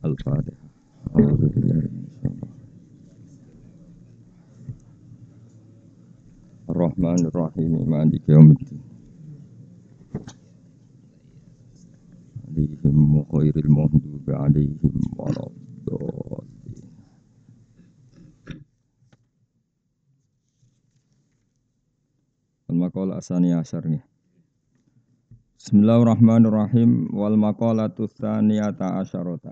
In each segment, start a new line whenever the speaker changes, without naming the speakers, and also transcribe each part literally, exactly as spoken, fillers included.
Al-Fatihah. A'udzubillahi minasyaitonir Ar-Rahmanir Rahim. Maliki yaumiddin. Alaihim ghairil maghdubi alaihim waladdallin. Al-maqalah asaniyah asyar nih. Bismillahirrahmanirrahim. Wal maqalatu tsaniyata asyarata.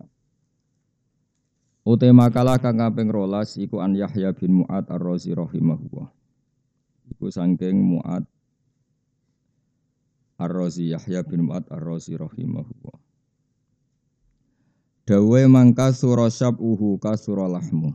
Ute makalah kang kaping rolas iku an Yahya bin Mu'ad Ar-Razi rahimahullah. Iku saking Mu'ad Ar-Razi Yahya bin Mu'ad Ar-Razi rahimahullah. Dawe mangka surasyab uhu kasuralahmu.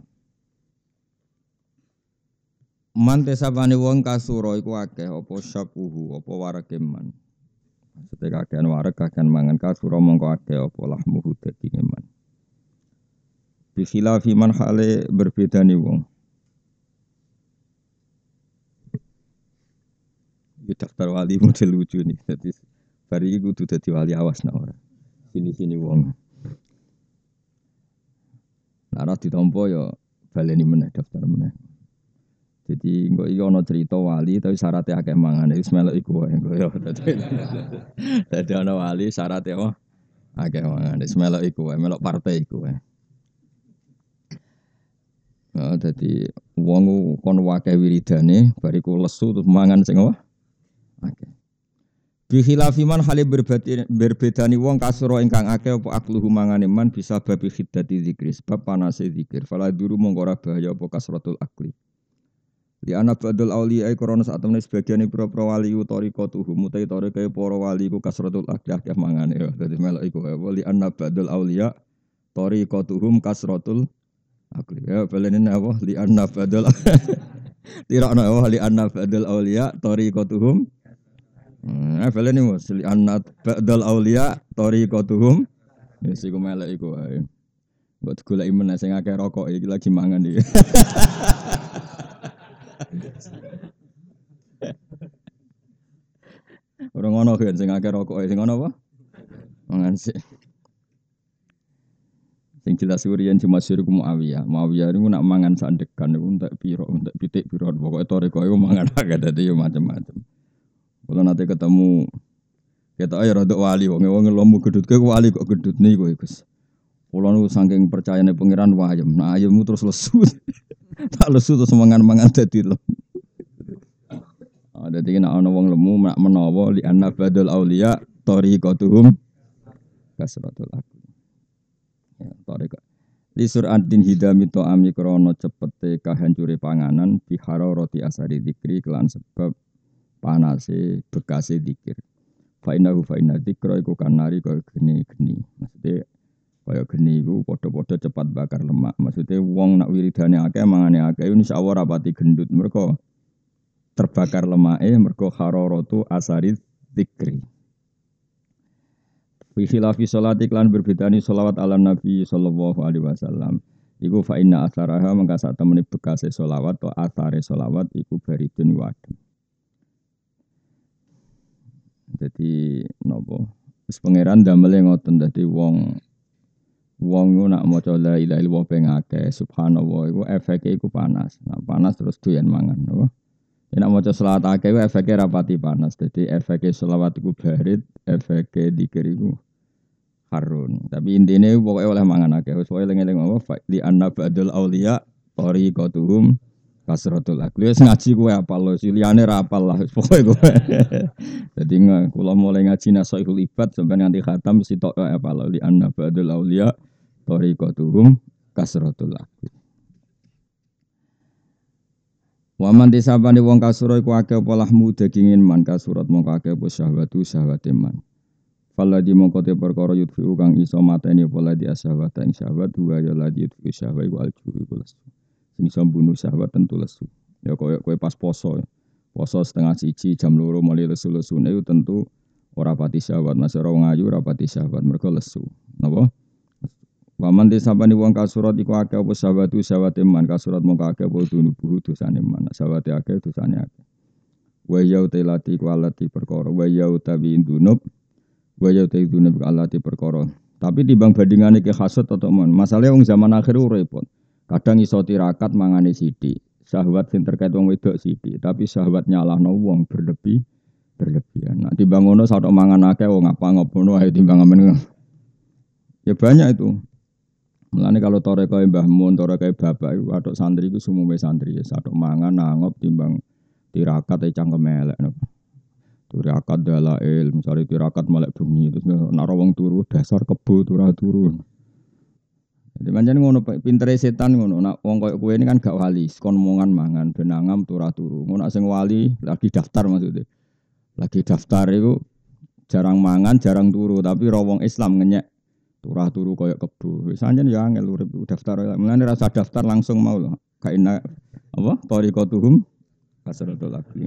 Mante sabane wong kasura iku akeh apa syabuhu apa warekeman. Maksudnya kakean warek kakean mangan kasura mongko akeh apa lahmuhu daging man. Bi khilafi man hale berbedani wong. Iki daftar wali model lucu nih. Dadi bari iki kudu dadi wali awas nak ora. Sini-sini wong. Nek ditampa ya baleni meneh daftar meneh. Jadi engko iki ana cerita wali tapi syaratnya akeh mangan wis melok iku wae engko ya. Dadi ana wali syaratnya apa? Akeh mangan wis melok iku wae, melok partai iku wae. Nah, dadi wong kon akeh wiridane bariku lesu terus mangan sing apa? Akeh. Bi khilafi man hale berbedani wong kasura ingkang akeh apa akluhu mangane man bisa babi khiddati zikri sebab panase zikir. Fala duru mongko ora bahaya apa kasratul akli. Li ana badul auliya krana sak temene sebagian pro-pro wali utariqatuhum mutai tarikae para wali ku kasratul akli akeh mangane ya. Dadi melok iku wae li ana badul auliya tariqatuhum kasratul akli. Ya balene apa li anna badal tirakno apa li anna badal auliya tariqatuhum. Nah balene mos li anna badal auliya tariqatuhum. Wis iku melek iku wae. Mbok digoleki meneh sing akeh rokok iki lagi mangan iki. Ora ngono kan sing akeh rokok sing ngono apa? Mangan sik. Sing jelas urian cuma suruh Muawiyah. Muawiyah niku nak mangan sandekan niku entek piro, entek pitik piro. Pokoke toreko iku mangan akeh dadi yo macam-macam. Kula nate ketemu ketok ae rada wali wong wong lomu gedutke wali kok gedut niku Gus. Kula niku saking percayane pangeran wayem. Nah ayemmu terus lesu. Tak lesu terus mangan-mangan dadi lemu. Ah dadi nek ana wong lemu mak menawa li anna badul auliya tariqatuhum kasratul akli. Toriko. Li suratin hidami ta'ami krana cepete kahancure panganan bihara roti asari zikri kelan sebab panase bekase zikir. Fa innahu fa inna dzikra iku kanari kaya geni-geni. Maksude kaya geni iku padha-padha cepat bakar lemak. Maksude wong nak wiridane akeh mangane akeh insyaallah rapati gendut mergo terbakar lemake mergo hararatu asari zikri. Fi khilafi sholati klan berbedani sholawat ala Nabi sallallahu alaihi wasallam. Iku fa inna atharaha mangka sak temene bekase sholawat to athare sholawat iku baridun wadem. Dadi napa? Wis pangeran damele ngoten dadi wong wong nak maca la ilaha illallah ping akeh subhanallah iku efeke iku panas. Nah panas terus doyan mangan napa? Nek maca selawat akeh iku efeke rapati panas. Dadi efeke selawat iku barid, efeke dzikir iku harun. Tapi intine pokoke oleh mangan akeh. Wis pokoke eling-eling apa li anna ba'dul auliya tariqatuhum kasratul akli. Wis ngaji kowe apal lho, liyane ra apal lah. Wis pokoke kowe. Dadi kula mulai ngaji Nasaihul Ibad sampeyan nganti khatam mesti tok apal li anna ba'dul auliya tariqatuhum kasratul akli. Waman disabane wong kasura iku akeh apa lahmu dagingin man kasurat mongko akeh apa syahwatu syahwate man. Fala di mongko te perkara yudfi kang iso mateni apa ladi asyahwat ing syahwat wa ya ladi yudfi syahwa iku alju iku lesu. Sing iso mbunuh syahwat tentu lesu. Ya koyo kowe pas poso. Poso setengah siji jam loro mulai lesu-lesune iku tentu ora pati syahwat. Mas ora wong ayu ora pati syahwat mergo lesu. Napa? Waman disabani wong kasurat iku akeh apa syahwatu syahwate man kasurat mongko akeh apa dunubuh dosane man syahwate akeh dosane akeh wa ya utilati ku alati perkara wa ya utawi dunub wa ya utawi dunub alati perkara Tapi timbang bandingane ke hasud atau mon. Masalahnya wong zaman akhir ku repot. Kadang iso tirakat mangane sithik. Syahwat sing terkait wong wedok sithik, tapi syahwat nyalahno wong berlebih berlebihan. Nah, timbang ngono sak mangan akeh wong apa ngono ae timbang amen. Ya banyak itu. Mulane kalau toreko Mbah Mun, toreko bapak iku atok santri iku sumume santri ya satok mangan nangop timbang tirakat e cangkem elek napa. Tirakat dalail, misale tirakat melek bengi terus nek wong turu dasar kebo turu turun. Jadi pancen ngono pintere setan ngono. Nek wong koyo kowe ini kan gak wali, kon omongan mangan benangam turu turu. Ngono sing wali lagi daftar maksudnya. Lagi daftar iku jarang mangan, jarang turu, tapi ro wong Islam ngenyek turah turu koyo kebo. Wis anjen ya angel urip daftar. Mulane rasa daftar langsung mau lho. Kaina apa? Tariqatuhum kasratul akli.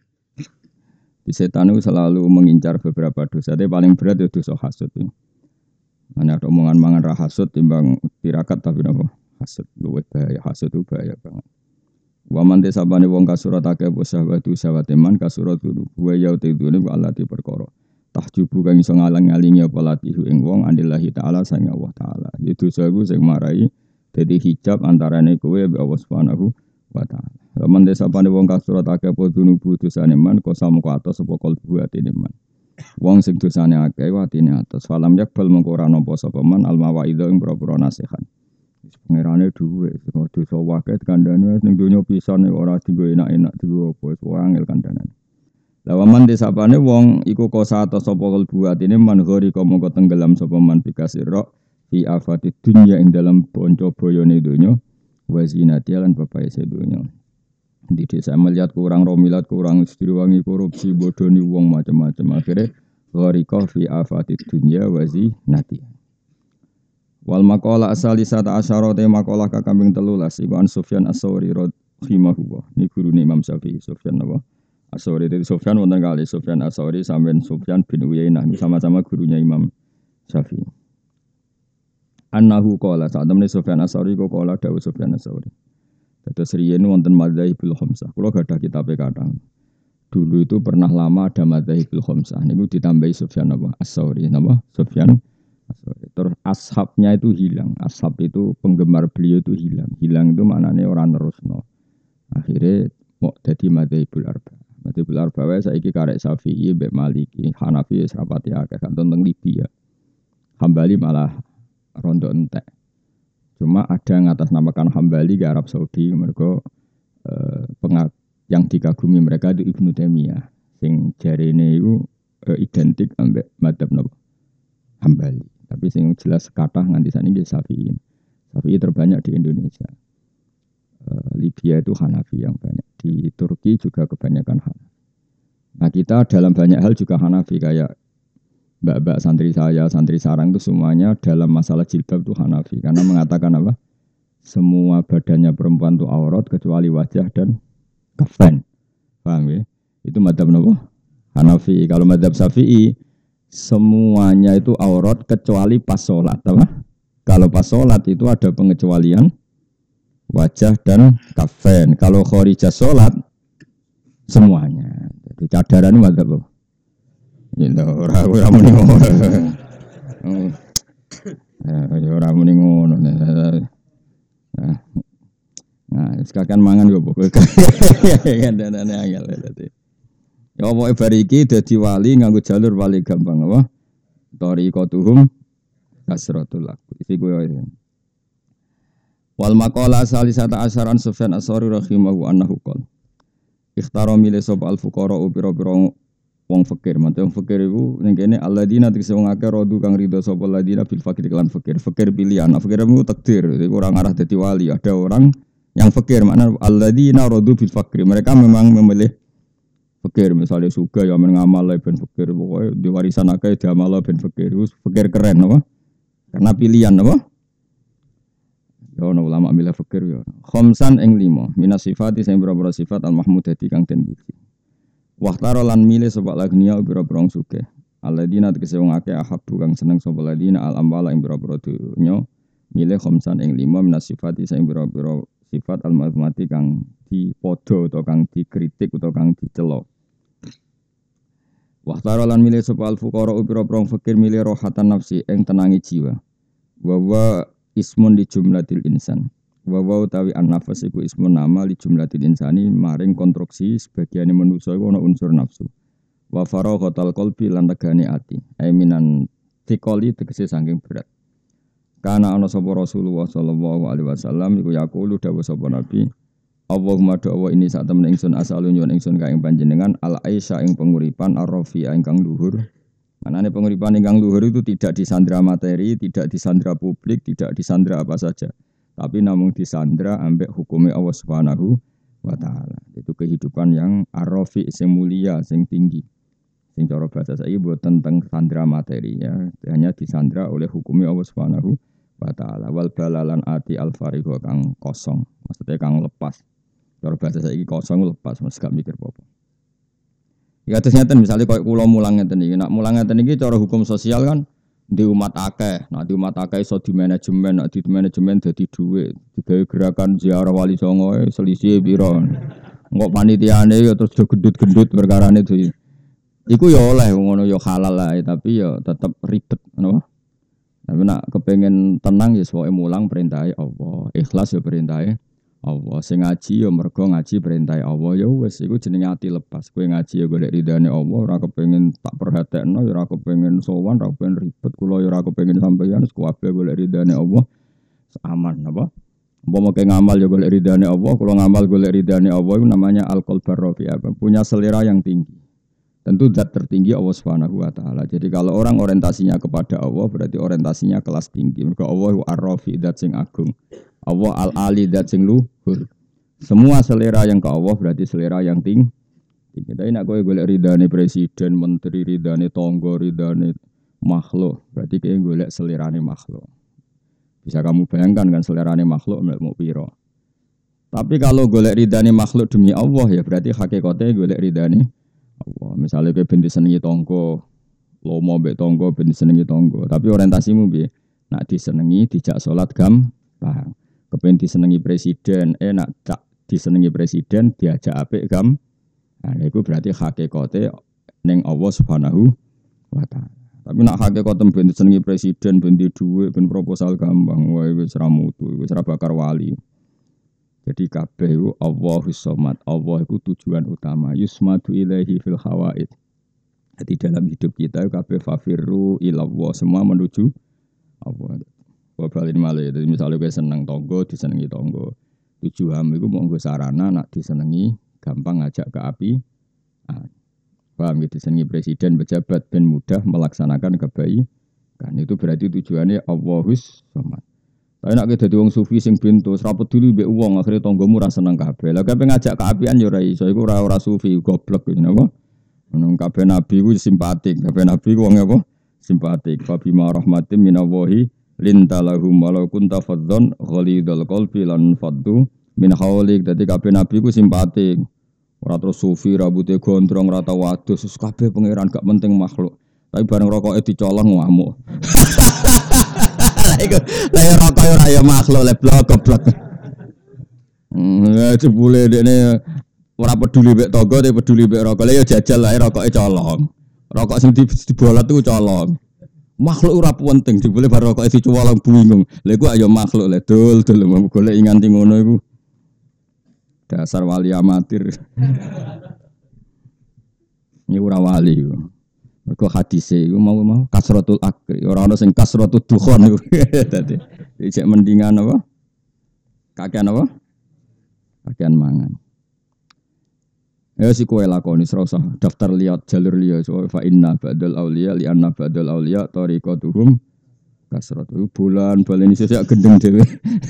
Di setan itu selalu mengincar beberapa dosa. Tapi paling berat itu dosa hasud. Mana ada omongan mangan ra hasud timbang tirakat tapi napa? Hasud luwih bahaya. Hasud itu bahaya banget. Wa man desabane wong kasurat akeh bosahwatu sawateman kasurat wa ya tidune Allah di perkara. Tahjubu kang iso ngalang-alingi apa latihu ing wong andillahi taala sang Allah taala. Itu sagu sing marai dadi hijab antarane kowe mbek Allah Subhanahu wa taala. Laman desa pane wong kasurat akeh apa dunubu dosane man kosa mengko atos apa kalbu atine man. Wong sing dosane akeh atine atos falam yakbal mengko ora nampa sapa man al mawaidha ing propro nasihat. Wis pangerane dhuwit dosa wae kandhane ning donya pisan ora dienggo enak-enak dienggo apa wis angel kandhanan. Lawaman desapane wong iku kosa atos sapa kalbu atine man gori mengko tenggelam sapa man bikasira fi afati dunya ing dalam bonco boyone donya wa zinati lan bapae sedonya. Di desa melihat kurang romilat kurang istri-wangi korupsi bodoni wong macam-macam akhirnya gharika fi afati dunya wa zinati. Wal maqala asalisata asyara te maqalah kakambing telulas iku an Sufyan As-Tsauri rahimahullah ni gurune Imam Syafi'i Sufyan apa As-Tsauri itu Sufyan wonten kali Sufyan As-Tsauri sampean Sufyan bin Uyainah sama-sama gurunya Imam Syafi'i. Annahu qala saat temene Sufyan As-Tsauri kok qala dawuh Sufyan As-Tsauri. Terus riyen wonten madzhabul khamsah. Kula gadah kitabe kathah. Dulu itu pernah lama ada madzhabul khamsah. Niku ditambahi Sufyan apa? As-Tsauri napa? Sufyan As-Tsauri. Terus ashabnya itu hilang. Ashab itu penggemar beliau itu hilang. Hilang itu maknane ora nerusno. Akhirnya mau dadi madzhabul arba. Madzhabul arba wae saiki karek Syafi'i mbek Maliki, Hanafi wis rapati akeh kan teng Libya. Hambali malah rondo entek. Cuma ada yang atasnamakan Hambali ke Arab Saudi mereka eh, pengak yang dikagumi mereka itu Ibnu Taimiyah sing jarene iku eh, identik ambek madzhab napa Hambali tapi sing jelas kathah nganti saniki Syafi'i. Syafi'i terbanyak di Indonesia. eh, Libya itu Hanafi yang banyak. Di Turki juga kebanyakan Hanafi. Nah, kita dalam banyak hal juga Hanafi kayak mbak-mbak santri saya, santri sarang itu semuanya dalam masalah jilbab itu Hanafi. Karena mengatakan apa? Semua badannya perempuan itu aurat kecuali wajah dan kafan. Paham ya? Itu madzhab apa? Hanafi. Kalau madzhab Syafi'i, semuanya itu aurat kecuali pas sholat. Apa? Kalau pas sholat itu ada pengecualian wajah dan kafan. Kalau khorijah sholat, semuanya. Jadi cadaran itu madzhab apa? Ya ora ora muni ngono. Ya ora muni ngono. Nah, sekalian mangan yo pokoke. Kandhane angel dadi. Ya pokoke bar iki dadi wali nganggo jalur wali gampang apa? Tariqatuhum kasratul akli. Iki kowe. Wal maqala salisata asyaran Sufyan As-Tsauri rahimahu annahu qol. Ikhtara mile sab al-fuqara pira-pira wong fakir, mate wong fakir iku ning kene alladzina tegese wong akeh rodu kang ridho sapa alladzina bil fakir lan fakir. Fakir pilihan, fakir itu takdir. Iku ora ngarah dadi wali. Ada orang yang fakir, makna alladzina rodu bil fakir. Mereka memang memilih fakir, misalnya suga ya men ngamal ben fakir, pokoke di warisan akeh diamal ben fakir. Iku fakir keren apa? Karena pilihan apa? Ya ono ulama milih fakir ya. Khamsan ing lima, minas sifati sing boro-boro sifat al-mahmudati kang den puji. Wahtaro lan milih sapa lagnia pira-pira sugih. Alladzina tegese wong akeh ahabbu kang seneng sapa ladina al ambala ing pira-pira dunya milih khamsan ing lima minas sifati sing pira-pira sifat al mahmudati kang dipadha utawa kang dikritik utawa kang dicela. Wa tarolan milih sapa al fuqara upira-pira fakir milih rohatan nafsi ing tenangi jiwa. Wa wa ismun di jumlatil insan. Wa wa utawi an-nafas iku ismun nama li jumlatil insani maring konstruksi sebagiane manusa iku ana unsur nafsu. Wa faraghatal qalbi lan tegane ati. Ai minan tikoli tegese saking berat. Kana ana sapa Rasulullah sallallahu alaihi wasallam iku yaqulu dawuh sapa nabi Allahumma do'awa ini saat temen ingsun asalun nyuwun ingsun ka ing panjenengan al aisha ing penguripan ar-rafi ingkang luhur. Manane penguripan ingkang luhur itu tidak disandra materi, tidak disandra publik, tidak disandra apa saja. Tapi namun disandra ambek hukumnya Allah Subhanahu wa taala. Itu kehidupan yang ar-rafi sing mulia, sing tinggi. Sing cara bahasa saiki mboten teng sandra materi ya, hanya disandra oleh hukumnya Allah Subhanahu wa taala. Wal balalan ati al-farigha kang kosong, maksudnya kang lepas. Cara bahasa saiki kosong lepas Mas gak mikir apa-apa. Ya terus ngeten misalnya koyo kula mulang ngeten iki, nak mulang ngeten iki cara hukum sosial kan di umat akeh, nak di umat akeh iso di manajemen, nak di manajemen dadi dhuwit, digawe gerakan ziarah wali songo selisih pira. Engko panitiane ya terus gendut-gendut perkarane itu. Iku ya oleh ngono ya halal lah, tapi ya tetep ribet napa? Tapi nak kepengin tenang ya pokoke mulang perintahe Allah, ikhlas ya perintahe Allah. Sing ngaji ya mergo ngaji perintah Allah ya wis iku jenenge ati lepas. Kowe ngaji ya golek ridane Allah, ora kepengin tak perhatekno ya ora kepengin sowan, ora kepengin ribet kula ya ora kepengin sampeyan wis kabeh golek ridane Allah. Aman apa? Umpama ke ngamal ya golek ridane Allah, kula ngamal golek ridane Allah itu namanya al-qalbar rafi, punya selera yang tinggi. Tentu zat tertinggi Allah Subhanahu wa taala. Jadi kalau orang orientasinya kepada Allah berarti orientasinya kelas tinggi. Mergo Allah ar-rafi, zat sing agung. Allah al-ali dat sing luhur. Semua selera yang ke Allah berarti selera yang tinggi. Kita nak kowe golek ridane presiden, menteri, ridane tangga, ridane makhluk, berarti kowe golek selerane makhluk. Bisa kamu bayangkan kan selerane makhluk mau piro. Tapi kalau golek ridane makhluk demi Allah ya berarti hakikate golek ridane Allah. Misalnya kowe ben disenengi tangga, lomo mbek tangga ben disenengi tangga, tapi orientasimu piye? Nak disenengi dijak salat gampang. Kepen disenengi presiden, eh nak tak disenengi presiden diajak apik gam. Nah, itu berarti hakikate ning Allah Subhanahu wa taala. Tapi nak hakikate ben disenengi presiden, ben di dhuwit, ben proposal gampang, wae wis ra mutu, wis ra bakar wali. Jadi kabeh iku Allahus Samad. Allah iku tujuan utama. Yusmadu ilaihi fil hawaid. Jadi dalam hidup kita kabeh fafirru ilallah, semua menuju Allah. Babalin malih, jadi misalnya gue seneng tonggo, disenengi tonggo. Tujuan itu mau gue sarana, nak disenengi, gampang ngajak ke api. Ah, paham gitu, disenengi presiden, pejabat, dan mudah melaksanakan kebaikan. Itu berarti tujuannya Allahus Samad. Tapi nak kita diwong sufi sing bintu, seraput dulu be uang, akhirnya tonggomu rasa seneng kabeh. Lah kabeh ngajak ke apian yo ora iso, iku ora ora sufi, goblok gitu, napa? Menung kabeh nabi ku simpatik, kabeh nabi ku wong apa? Simpatik. Fa bima rahmatin minallahi lintalahum walau kunta fadzon ghalidul qalbi lan faddu min haulik. Dadi kabeh nabi ku simpatik. Ora terus sufi rambutnya gondrong ora tau wadus, kabeh pangeran gak penting makhluk. Tapi bareng rokoke dicolong ngamuk. Lah iku lah ya rokok ora ya makhluk le blok goblok. Hmm, jebule dekne ora peduli mek tangga, tapi peduli mek rokok. Lah ya jajal ae rokoke colong. Rokok sing dibolat iku colong. Makhluk ora penting, jebule bar rokoke dicolong bingung. Lha iku ayo makhluk le dul dul golek nganti ngono iku. Dasar wali amatir. Ini ora wali iku. Mergo hadise iku mau-mau kasratul akri, ora ana sing kasratul dukhon iku. Dadi cek mendingan apa? Kakean apa? Kakean mangan. Ya si kowe lakoni serasa daftar liat jalur liya so fa inna ba'dal auliya li anna ba'dal auliya tariqatuhum kasratu bulan balen iso sak gendeng dhewe.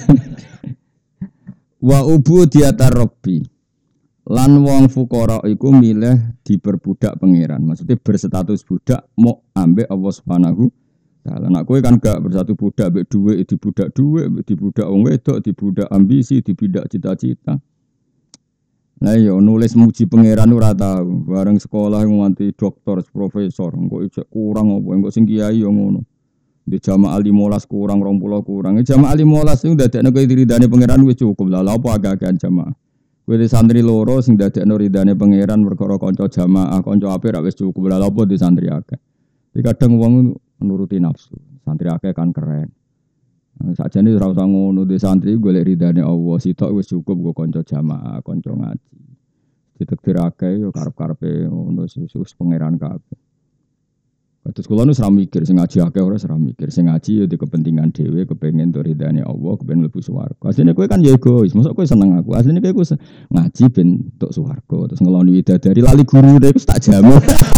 Wa ubudiyatar rabbi. Lan wong fuqara iku milih diperbudak pangeran. Maksudnya berstatus budak mau ambek Allah Subhanahu taala. Nek kowe kan gak bersatu budak ambek dhuwit, dibudak dhuwit, dibudak wong wedok, dibudak ambisi, dibudak cita-cita. Lah yo nulis muji pangeran ora tau. Bareng sekolah nganti doktor, profesor, engko ijek kurang apa, engko sing kiai yo ngono. Di jamaah lima belas kurang dua puluh kurang. Jamaah lima belas iku ndadekne kowe diridane pangeran wis cukup lah. Lha apa agak-agakan jamaah. Kowe di santri loro sing dadekno ridane pangeran perkara kanca jamaah, kanca apik ra wis cukup lha apa di santri akeh. Jadi kadang wong nuruti nafsu. Santri akeh kan keren. Sakjane ora usah ngono di santri golek ridane Allah, sitok wis cukup go kanca jamaah, kanca ngaji. Ditektir akeh yo karep-karepe ngono wis pangeran kabeh. Terus kula nu ora mikir sing ngaji akeh ora ora mikir. Sing ngaji ya di kepentingan dhewe, kepengin to ridane Allah, kepengin mlebu swarga. Asline kowe kan ya egois, mosok kowe seneng aku. Asline kowe ngaji ben entuk swarga, terus ngeloni widadari lali guru iku tak jamu.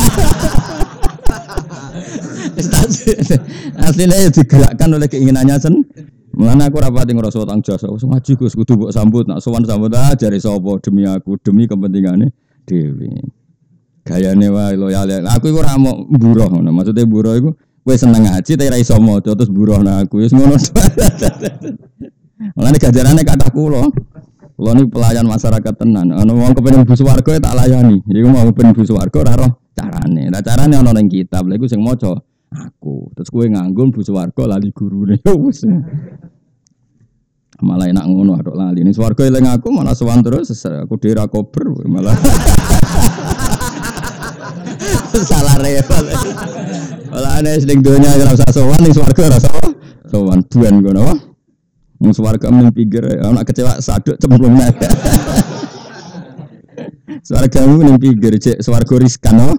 Asline ya digerakkan oleh keinginannya sen. Mulane aku ora pati ngrasa tang jasa. Wis ngaji Gus kudu mbok sambut, nak sowan sambut ah jare sapa demi aku, demi kepentingane dhewe. Gayane wae loyal. Aku iku ora mau mburuh ngono. Maksude mburuh iku kowe seneng ngaji tapi ora iso maca terus mburuh nang aku. Wis ngono. Mulane gajarane kathah kula. Kula niku pelayan masyarakat tenan. Ana wong kepengin mlebu swarga tak layani. Iku mau kepengin mlebu swarga ora roh carane. Lah carane ana ning kitab. Lha iku sing maca aku. Terus kowe nganggo mlebu swarga lali gurune. Wis. Malah enak ngono atok lali. Ning swarga eling aku malah sowan terus aku dhewe ra kober malah. Salah repot. Malah ana sing donya ora usah sowan ning swarga ora usah sowan duan ngono wae. Wong swarga mung pikir ana kecewa saduk cemplung nek. Swargamu ning pikir cek swarga riskan apa?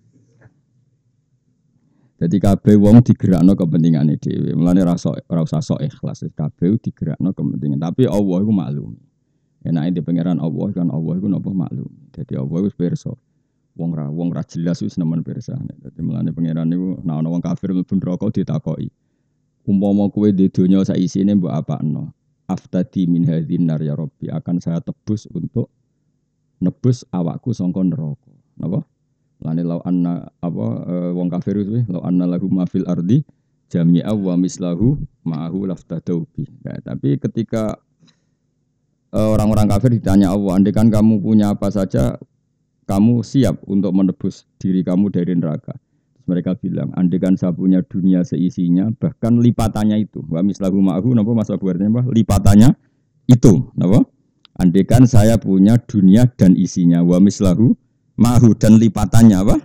Jadi kabeh wong digerakno kepentingane dhewe. Mulane ora ora usah sok ikhlas kabeh digerakno kepentingan. Tapi Allah iku maklum. Enake di pangeran Allah kan Allah iku napa maklum. Dadi Allah wis pirsa. Wong ra wong ra jelas wis nemen pirsane. Dadi mulane pangeran niku nek ana wong kafir mlebu neraka ditakoki. Umpama kowe di donya sak isine mbok apakno? Aftadi min hadzin nar ya Rabbi, akan saya tebus untuk nebus awakku saka neraka. Napa? Lane law anna apa e, wong kafir kuwi law anna lahu ma fil ardi jami'a wa mislahu ma'ahu laftadau bi. Nah, tapi ketika e, orang-orang kafir ditanya Allah, andai kan kamu punya apa saja kamu siap untuk menebus diri kamu dari neraka. Terus mereka bilang, andekan saya punya dunia seisinya, bahkan lipatannya itu. Wa mislahu ma'ahu, napa masa buarnya apa? Lipatannya itu, napa? Andekan saya punya dunia dan isinya, wa mislahu ma'ahu dan lipatannya apa?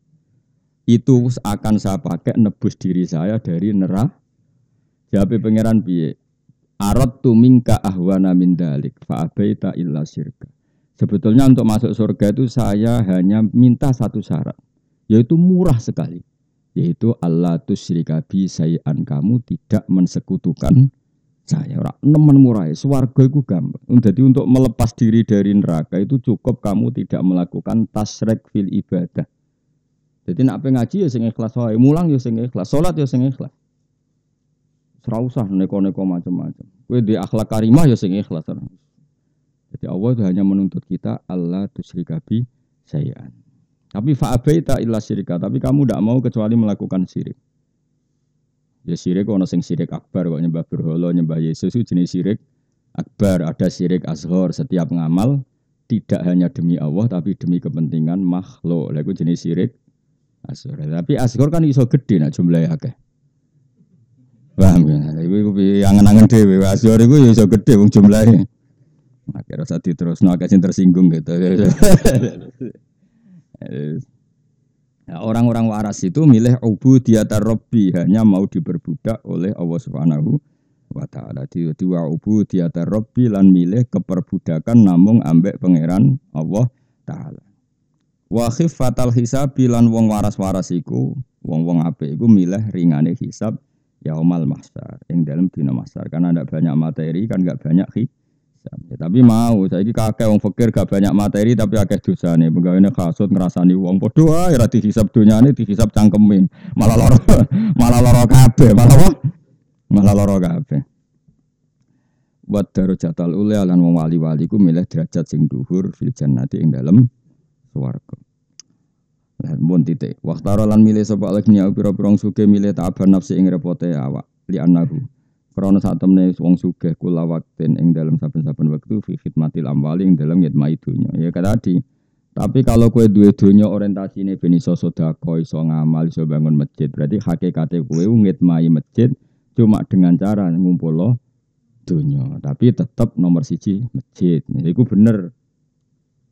Itu akan saya pakai nebus diri saya dari neraka. Jawab pangeran piye? Aradtu minka ahwana min dalik, fa abaita illa syirka. Sebetulnya untuk masuk surga itu saya hanya minta satu syarat, yaitu murah sekali, yaitu Allah tusyrika bi syai'an, kamu tidak mensekutukan saya. Ora nemen murah, swarga iku gampang. Jadi untuk melepas diri dari neraka itu cukup kamu tidak melakukan tasyrik fil ibadah. Jadi nak pe ngaji ya sing ikhlas wae, mulang ya sing ikhlas, salat ya sing ikhlas. Ora usah neko-neko macam-macam. Kowe di akhlak karimah ya sing ikhlas. Jadi Allah itu hanya menuntut kita Allah tusyrika bi syai'an. Tapi fa'abaita illa syirika, tapi kamu tidak mau kecuali melakukan syirik. Ya syirik ana sing syirik akbar kok nyembah berhala, nyembah Yesus itu jenis syirik akbar, ada syirik asghar, setiap ngamal tidak hanya demi Allah tapi demi kepentingan makhluk. Lha iku jenis syirik asghar. Tapi asghar kan iso gede nek jumlahe akeh. Paham ya? Iku angen-angen dhewe asghar iku iso gede wong jumlahe. Akhirnya saat terus no agak tersinggung gitu. Nah, orang-orang waras itu milih ubudiyatar Rabbi, hanya mau diperbudak oleh Allah Subhanahu wa taala. Di wa ubudiyatar Rabbi lan milih keperbudakan namung ambek pangeran Allah taala. Wa khiffatal hisab lan wong waras-waras iku, wong-wong apik iku milih ringane hisab yaumal mahsyar, ing dalem dina mahsyar. Karena ada banyak materi kan enggak banyak hisab. Ya, tapi mau saiki kakek wong fakir gak banyak materi tapi akeh dosane. Pegawene kasut ngrasani wong padha wae ora dihisab donyane dihisab cangkeme. Malah lara malah lara kabeh, malah apa? Malah lara kabeh. Wa darajatul ula lan wong wali-wali ku milih derajat sing dhuwur fil jannati ing dalem swarga. Lah mun titik. Waqtara lan milih sapa alnya pira-pira sugih milih ta'aban nafsi ing repote awak li anahu. Karena saat temne wong sugih kula waktin ing dalam saben-saben wektu fi khidmatil amwali ing dalam ngitmai dunya. Ya tadi. Tapi kalau kowe duwe dunya orientasine ben iso sedekah, iso ngamal, iso bangun masjid, berarti hakikate kowe ngitmai masjid cuma dengan cara ngumpulo dunya. Tapi tetap nomor siji masjid. Iku bener.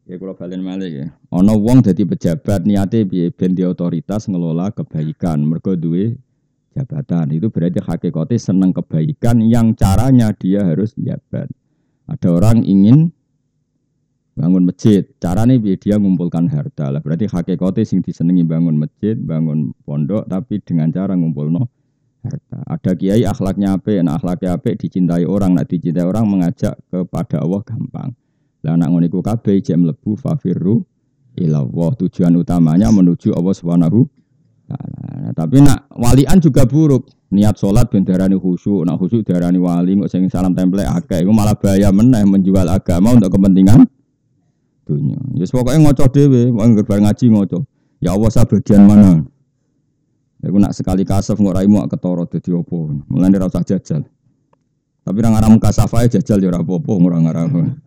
Ya kula balen malih ya. Ana wong dadi pejabat niate piye ben di otoritas ngelola kebaikan, mergo duwe jabatan. Itu berarti hakikate seneng kebaikan yang caranya dia harus jabat. Ada orang ingin bangun masjid, caranya piye dia ngumpulkan harta. Lah berarti hakikate sing disenengi bangun masjid, bangun pondok tapi dengan cara ngumpulno harta. Ada kiai akhlaknya apik, nah akhlaknya apik dicintai orang, nak dicintai orang mengajak kepada Allah gampang. Lah anak ngono iku kabeh jek mlebu fafirru ila Allah. Tujuan utamanya menuju Allah Subhanahu taala. Nah, tapi nak walian juga buruk. Niat salat ben darani khusyuk, nak khusyuk darani wali kok sing salam template akeh iku malah bahaya meneh menjual agama untuk kepentingan dunia. Ya yes, pokoke ngoco dhewe, wong bar ngaji ngoco. Ya Allah sa bagian mana? Iku nak sekali kasef kok raimu ketara dadi opo. Mulane ora usah jajal. Tapi ra ngaramu kasafae jajal ya ora apa-apa ora ngaramu.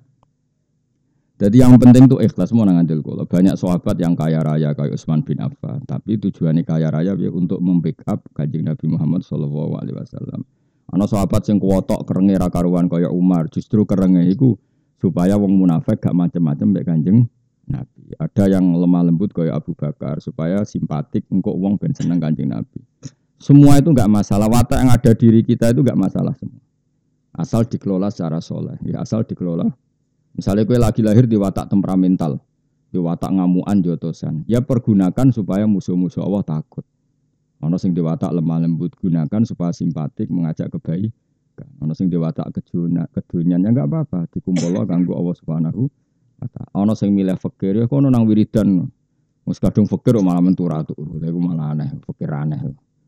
Jadi yang penting tuh ikhlas mau ngandel kula. Banyak sahabat yang kaya raya kayak Utsman bin Affan, tapi tujuannya kaya raya ya untuk membackup Kanjeng Nabi Muhammad sallallahu alaihi wasallam. Ana sahabat sing kuwotok kerenge ra karuan kaya Umar, justru kerenge iku supaya wong munafik gak macem-macem mbek Kanjeng Nabi. Ada yang lemah lembut kaya Abu Bakar supaya simpatik engko wong ben seneng Kanjeng Nabi. Semua itu enggak masalah, watak yang ada diri kita itu enggak masalah semua. Asal dikelola secara soleh, ya asal dikelola. Misalnya kue lagi lahir di watak temperamental, di watak ngamuan jotosan, ya pergunakan supaya musuh-musuh Allah takut. Ono sing di watak lemah lembut gunakan supaya simpatik mengajak kebaikan. Ono sing di watak kejuna kedunyan ya enggak apa-apa, dikumpul kanggo Allah Subhanahu wa taala. Ono sing milih fakir ya kono nang wiridan. Mus kadung fakir malah menturatu, iku malah aneh, fakir aneh.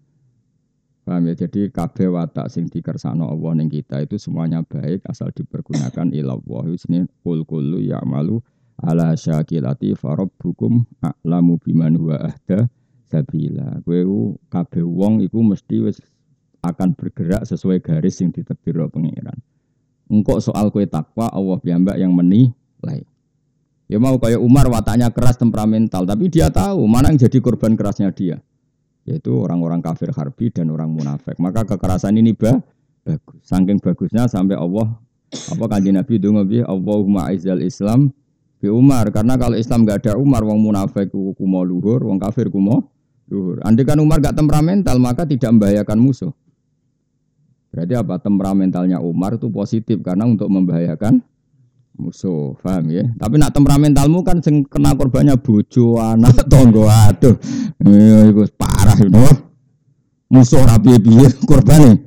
Paham ya? Jadi kabeh watak sing dikersakno Allah ning kita itu semuanya baik asal dipergunakan ilallah. Isine kul kullu ya'malu ala syakilati farabbukum a'lamu biman huwa ahda sabila. Kowe kabeh wong iku mesti wis akan bergerak sesuai garis yang ditetapkan pengiran. Engkau soal kowe takwa Allah piyambak yang menilai. Ya mau kayak Umar wataknya keras temperamental, tapi dia tahu mana yang jadi korban kerasnya dia. Yaitu orang-orang kafir harbi dan orang munafik. Maka kekerasan ini bah, bagus. Saking bagusnya sampai Allah apa Kanjeng Nabi donga piye Allahumma aizal Islam bi Umar, karena kalau Islam enggak ada Umar wong munafik ku mau luhur, wong kafir ku mau luhur. Andai kan Umar enggak temperamental maka tidak membahayakan musuh. Berarti apa? Temperamentalnya Umar itu positif karena untuk membahayakan musuh, paham ya? Tapi nak temperamentalmu kan sing kena korbannya bojo, anak, tonggo, aduh. Eh iku parah itu. Musuh ra piye-piye korbane.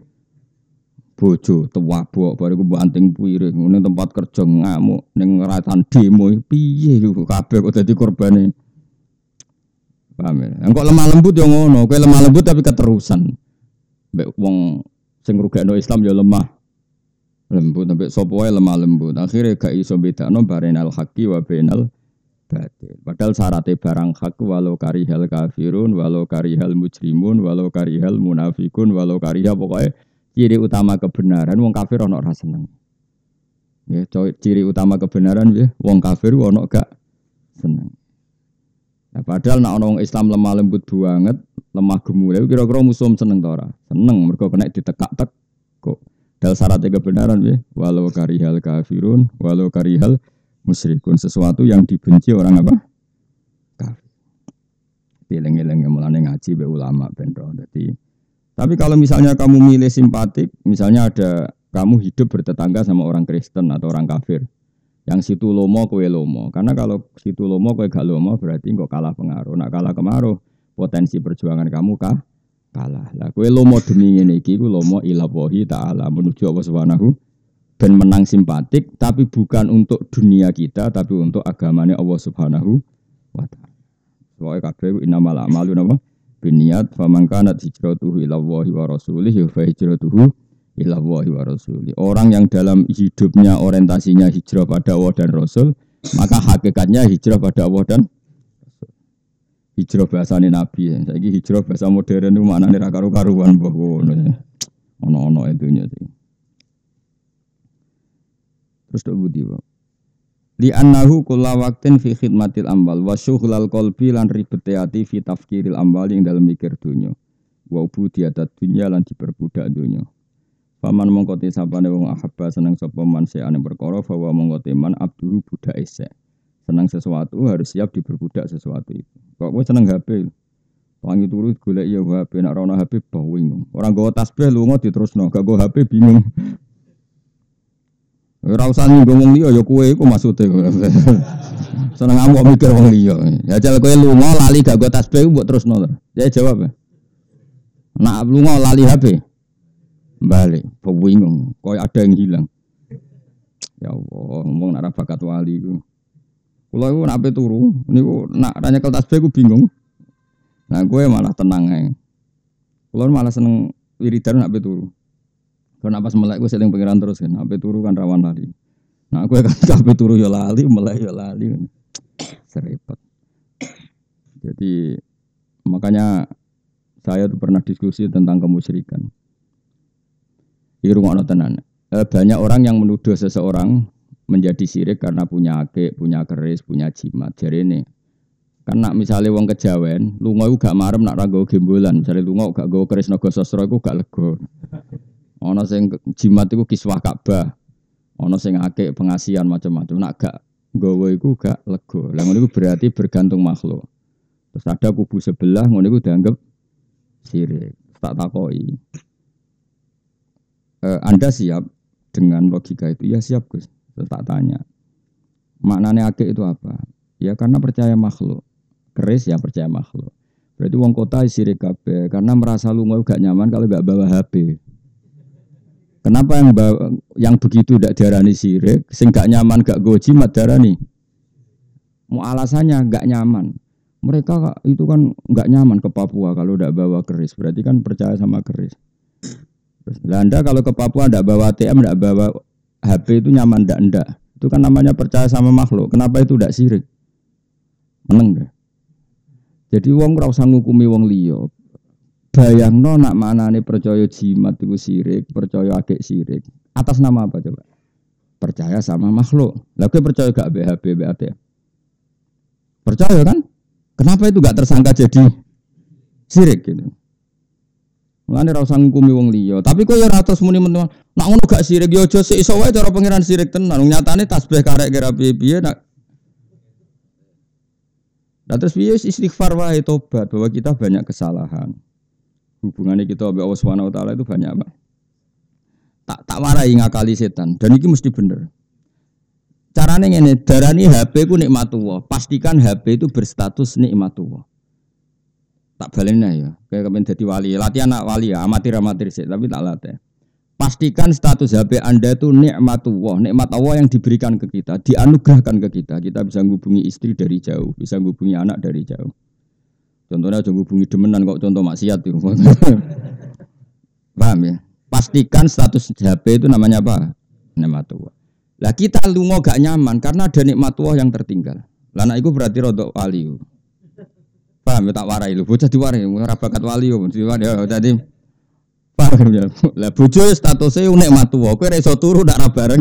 Bojo tuwabok bariku banting piring ning tempat kerja ngamuk ning ngeratan demo piye iku kabeh kok dadi korbane. Paham ya? Engko lemah lembut yo ngono, kowe lemah lembut tapi keterusan. Mbek wong sing rugekno Islam yo lemah lembut sampai sapa wae lemah lembut. Akhire gak iso bedakno barenal haqqi wa bainal batil. Padahal syaratnya barang hak walau karihal kafirun, walau karihal mujrimun, walau karihal munafikun, walau karihal pokoknya ciri utama kebenaran wong kafir ono ora seneng. Ya, ciri utama kebenaran ya wong kafir ono gak seneng. Nah, padahal nek ana wong Islam lemah lembut banget, lemah gemule kira-kira musuh seneng ta ora? Seneng mergo kena ditekak-tek kok. Dal syaratnya kebenaran ya, walau karihal kafirun, walau karihal musyrikun, sesuatu yang dibenci orang apa? Kafir. Dileng-eleng mulane ngaji be ulama ben ro. Dadi tapi kalau misalnya kamu milih simpatik, misalnya ada kamu hidup bertetangga sama orang Kristen atau orang kafir. Yang situ lomo kowe lomo. Karena kalau situ lomo kowe gak lomo berarti kok kalah pengaruh. Nak kalah kemaruh, potensi perjuangan kamu kah? Kalah. Lah kowe lomo demi ngene iki ku lomo ila wahi taala menuju Allah Subhanahu dan menang simpatik tapi bukan untuk dunia kita tapi untuk agamanya Allah Subhanahu wa taala. Soale kabeh innamal a'malu napa binniyat faman kanat hijratuhu ila Allahi wa rasulihi fa hijratuhu ila Allahi wa rasulihi. Orang yang dalam hidupnya orientasinya hijrah pada Allah dan Rasul, maka hakikatnya hijrah pada Allah dan hijrah bahasane Nabi. Saiki hijrah bahasa modern itu maknane ra karo-karuan mbah ngono. Ono-ono itunya sih. Terus tok budi wae. Li annahu kulla waqtin fi khidmatil amwal wa syughlal qalbi lan ribete ati fi tafkiril amwal ing dalem mikir dunya. Wa ubudiyatat dunya lan diperbudak dunya. Paman mongko te sapane wong ahabba seneng sapa man seane perkara fa wa mongko te man abdu budak ese. Senang sesuatu harus siap diperbudak sesuatu itu. Kok kowe seneng H P? Wangi turu golek ya H P, nek ora ono H P bingung. Ora nggawa tasbih lunga diterusno, gak nggawa H P bingung. Ora usah nyinggung wong liya ya kowe iku maksude. Seneng amuk mikir wong liya. Ya jal kowe lunga lali gak nggawa tasbih mbok terusno to. Ya jawab. Nak lunga lali H P. Balik, bingung. Koyo ada yang hilang. Ya Allah, ngomong nak bakat wali iku. Kula iku nak ape turu, niku nak ra nyekel tasbih iku bingung. Nah, gue malah tenang ae. Kula malah seneng wiridan nak ape turu. Karena pas melek gue seling pengiran terus kan, ape turu kan rawan lali. Nah, gue kan ape turu ya lali, melek ya lali. Serempet. Jadi makanya saya tuh pernah diskusi tentang kemusyrikan. Iki rungokno tenan. Banyak orang yang menuduh seseorang menjadi syirik karena punya akik, punya keris, punya jimat. Jadi ini, kan nak misalnya wong kejawen, lunga iku gak marem nak ra nggawa gembolan. Misale lunga gak nggawa keris naga sastra iku gak lega. Ana sing jimat iku kiswah Ka'bah. Ana sing akik pengasihan macam-macam. Nak gak nggawa iku gak lega. Lah ngono iku berarti bergantung makhluk. Terus ada kubu sebelah ngono iku dianggap syirik. Tak takoki. E, Anda siap dengan logika itu? Ya siap Gus. Terus tak tanya, maknanya akik itu apa? Ya karena percaya makhluk. Keris ya percaya makhluk. Berarti wong kota sirik kabeh karena merasa lunga gak nyaman kalau gak bawa H P. Kenapa yang bawa, yang begitu ndak diarani sirik, sing gak nyaman gak go jimat diarani? Mau alasannya gak nyaman. Mereka itu kan gak nyaman ke Papua kalau ndak bawa keris. Berarti kan percaya sama keris. Lah Anda kalau ke Papua ndak bawa A T M, ndak bawa H P itu nyaman ndak ndak. Itu kan namanya percaya sama makhluk. Kenapa itu ndak sirik? Meneng deh. Jadi wong ora usah ngukumi wong liya. Bayangno nak manane percaya jimat itu sirik, percaya akik sirik. Atas nama apa coba? Percaya sama makhluk. Lah kowe percaya gak B H P, B A T M? Percaya kan? Kenapa itu gak tersangka jadi sirik gitu? Mulane ora usah ngukumi wong liya. Tapi kok ya ora terus muni teman. Nak ngono gak sirik ya aja sik iso wae cara pangeran sirik tenan. Nyatane tasbih karek kira piye-piye nak. Lah terus piye istighfar wae tobat bahwa kita banyak kesalahan. Hubungannya kita sama Allah Subhanahu wa taala itu banyak apa? Tak tak warai ngakali setan dan iki mesti bener. Carane ngene, darani H P ku nikmatullah. Pastikan H P itu berstatus nikmatullah. Tak balena ya, kayak kepen dadi wali. Latihan anak wali ya, amatir-amatir sih, tapi tak latih. Pastikan status H P Anda itu nikmatullah, nikmat Allah yang diberikan ke kita, dianugerahkan ke kita. Kita bisa menghubungi istri dari jauh, bisa menghubungi anak dari jauh. Contohnya aja menghubungi demenan kok contoh maksiat itu. Paham ya? Pastikan status H P itu namanya apa? Nikmatullah. Lah kita lunga gak nyaman karena ada nikmatullah yang tertinggal. Lah nek iku berarti rodok wali. Paham ya tak warai lho, bocah diwarai ora bakat wali yo, ya tadi. Paham ya. Lah bojo statuse nikmatullah, kowe ora iso turu ndak ra bareng.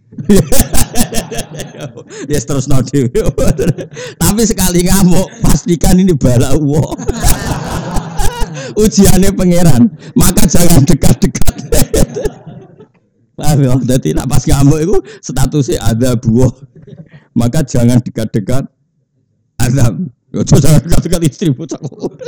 Ya terus no dhewe. Tapi sekali ngamuk pastikan ini bala Allah. Ujiannya pangeran, maka jangan dekat-dekat. Paham ya? Jadi nak pas ngamuk itu statusnya ada buah. Maka jangan dekat-dekat azab. Yo jangan dekat-dekat istri bocah.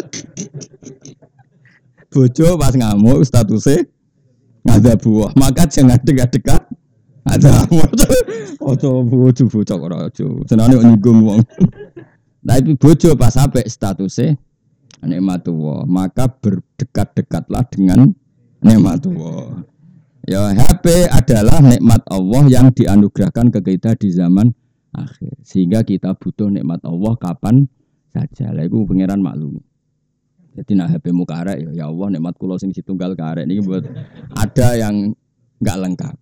Bojo pas ngamuk statusnya ada buah. Maka jangan dekat-dekat ada. Ojo bojo bocah ora ojo. Senane nyinggung wong. Tapi bojo pas sampai statusnya nikmatullah, maka berdekat-dekatlah dengan nikmatullah. Ya H P adalah nikmat Allah yang dianugerahkan ke kita di zaman akhir. Sehingga kita butuh nikmat Allah kapan saja. Lah iku pangeran maklum. Jadi nak H P mu karek ya, ya Allah nikmat kula sing ditunggal karek niki buat ada yang enggak lengkap.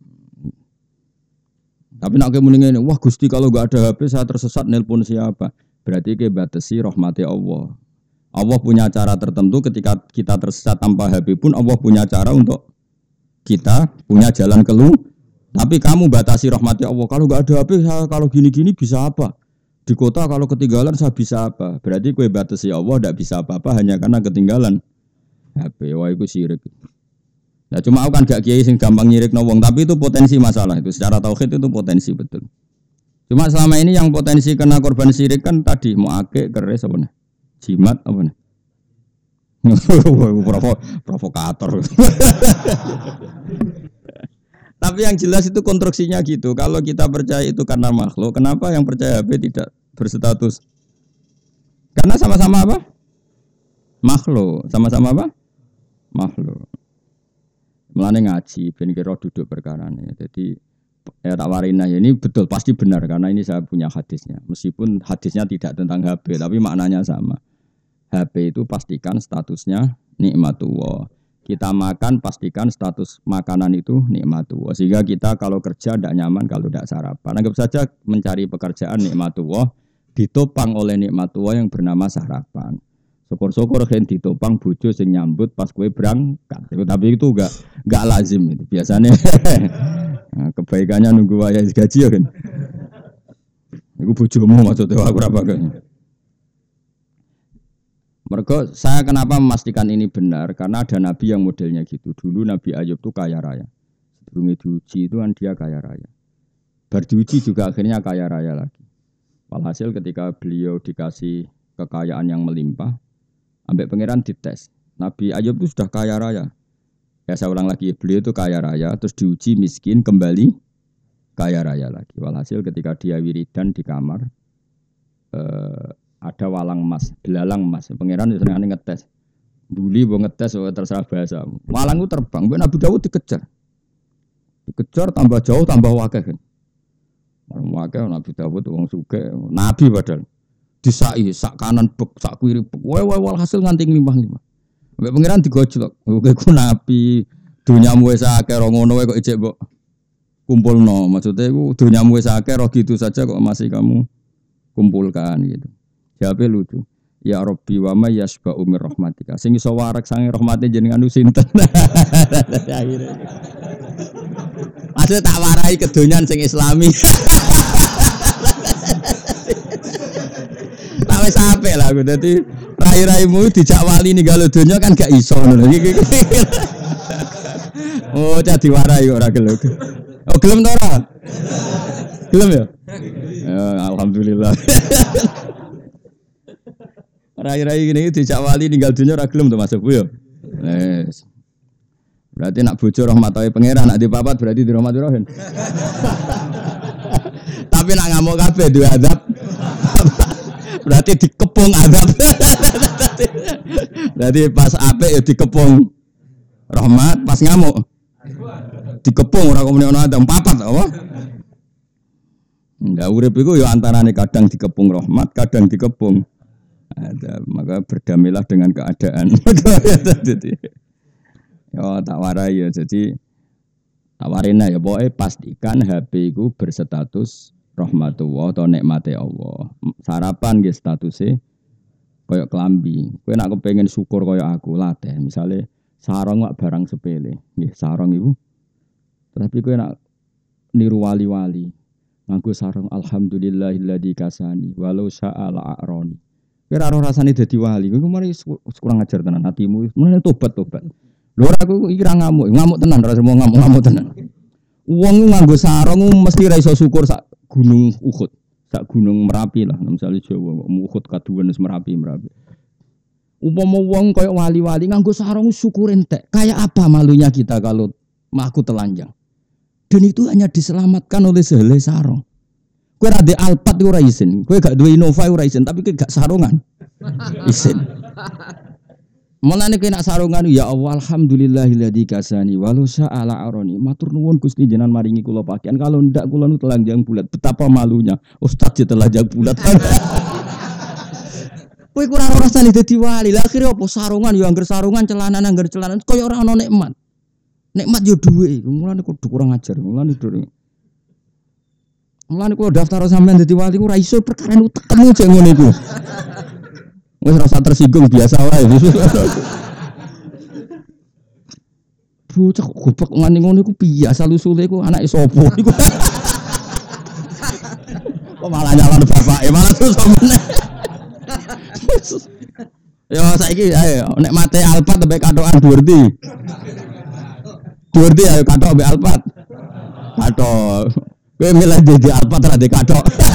Tapi nak kowe muni ngene, wah Gusti kalau enggak ada H P saya tersesat nelpon siapa? Berarti ke batasi rahmati Allah. Allah punya cara tertentu ketika kita tersesat tanpa H P pun Allah punya cara untuk kita punya jalan keluar. Tapi kamu batasi rahmati Allah. Kalau enggak ada H P, saya kalau gini-gini bisa apa? Di kota kalau ketinggalan saya bisa apa? Berarti kowe batasi Allah enggak bisa apa-apa hanya karena ketinggalan H P. Wah itu syirik. Nah cuma aku kan gak kiai sing gampang nyirikno wong, tapi itu potensi masalah itu. Secara tauhid itu potensi betul. Cuma selama ini yang potensi kena korban syirik kan tadi mau akik, keris apa nih? Jimat apa nih? Provo, provokator. Tapi yang jelas itu konstruksinya gitu. Kalau kita percaya itu karena makhluk, kenapa yang percaya H P tidak berstatus? Karena sama-sama apa? Makhluk. Sama-sama apa? Makhluk. Mulane ngaji, ben kira duduk perkarane. Jadi ya tak warinah ini betul pasti benar karena ini saya punya hadisnya. Meskipun hadisnya tidak tentang H P, tapi maknanya sama. H P itu pastikan statusnya nikmatullah. Kita makan pastikan status makanan itu nikmatullah. Sehingga kita kalau kerja tidak nyaman kalau tidak sarapan. Anggap saja mencari pekerjaan nikmatullah ditopang oleh nikmatullah yang bernama sarapan. Syukur-syukur kan ditopang bojo sing nyambut pas kowe berangkat. Tapi itu enggak enggak lazim itu. Biasanya nah, kebaikannya nunggu wayah gaji ya kan. Iku bojomu maksudnya aku ora bakal. Mergo saya kenapa memastikan ini benar karena ada nabi yang modelnya gitu. Dulu Nabi Ayub itu kaya raya. Sebelumnya diuji itu kan dia kaya raya. Bar diuji juga akhirnya kaya raya lagi. Walhasil ketika beliau dikasih kekayaan yang melimpah, ambek pangeran dites. Nabi Ayub itu sudah kaya raya. Ya saya ulang lagi, beliau itu kaya raya terus diuji miskin kembali kaya raya lagi. Walhasil ketika dia wiridan di kamar eh, ada walang emas, belalang emas. Pangeran sering ngetes. Buli mau ngetes, oh, terserah bahasa. Walang itu terbang, Nabi Dawud dikejar. Dikejar tambah jauh, tambah wakil. Wakil Nabi Dawud, wong sugih, Nabi padahal. Disai, sak kanan bek, sak kiri bek. Wah, wah, walhasil nganti limpah-limpah. Sampai pangeran digojlok. Oke, ku Nabi, dunyamu wis akeh ro ngono wae kok ijek mbok kumpulno. Maksudnya ku dunyamu wis akeh ro gitu saja kok masih kamu kumpulkan gitu. Jawabe lucu. Ya Rabbi wa may yasba'u mir rahmatika. Sing iso warak sange rahmate jenengan sinten. Maksud tak warai kedonyan sing islami. Tak wis apik lah aku dadi rai-raimu dijak wali ninggal donya kan gak iso ngono. Oh, cah diwarai kok ora gelem. Oh, gelem to ora? Gelem ya? Ya alhamdulillah. Rai-rai gini dijak wali ninggal dunia ora gelem to masuk Bu ya. Wes. Berarti nak bojo rahmatawe pangeran, nak dipapat berarti dirahmati rohen. Tapi nak ngamuk kabeh duwe azab. Berarti dikepung azab. Berarti pas apik ya dikepung rahmat, pas ngamuk dikepung ora kok muni ono azab papat apa? Enggak urip iku ya antarane kadang dikepung rahmat, kadang dikepung ada, maka berdamailah dengan keadaan. Ya tak warai ya, jadi tak warina ya pokoknya pastikan H P itu berstatus rahmatullah atau nikmati Allah. Sarapan nggih statusnya koyok kelambi. Kowe nek kepengin syukur koyok aku latih, misalnya sarung wak barang sepele, nggih sarung iku. Tapi kowe nek niru wali-wali nganggo sarung alhamdulillahilladzi kasani walau sya'ala a'roni. Kira roh rasane dadi wali, kowe mari kurang ajar tenan atimu, mulane tobat-tobat. Lho ora aku iki ra ngamuk, ngamuk tenan ora semua ngamuk-ngamuk tenan. Wong nganggo sarung mesti ra iso syukur sak gunung Uhud, sak gunung Merapi lah, misalnya Jawa, Uhud kaduwen wis Merapi, Merapi. Upama wong kaya wali-wali nganggo sarung syukur entek. Kayak apa malunya kita kalau maku telanjang. Dan itu hanya diselamatkan oleh sehelai sarung. Kowe ra ndek Alphard ora isin, kowe gak duwe Innova ora isin, tapi kowe gak sarungan. Isin. Mulane kowe nak sarungan ya Allah alhamdulillahilladzi kasani walau sya'ala aroni. Matur nuwun Gusti jenengan maringi kula pakaian, kalau ndak kula nu telanjang bulat. Betapa malunya Ustaz je telanjang bulat. Kowe kurang rasane dadi wali. Lah akhire apa sarungan ya angger sarungan, celana angger celana, kaya ora ana nikmat. Nikmat yo duwe. Mulane kudu kurang ajar. Mulane duwe. Mulane kula daftar sampean dadi wali ku ora iso perkara utekmu jek ngono iku. Wis rasa tersinggung biasa wae. Bocah goblok ngene ngono iku biasa lusule iku anake sapa iku. Kok malah nyalon bapake malah susah meneh. Ya saiki ayo nek mate Alphard mbek katokan Durdi. Durdi ayo katok mbek Alphard. Katok. Kowe milih di Alphard ra di katok.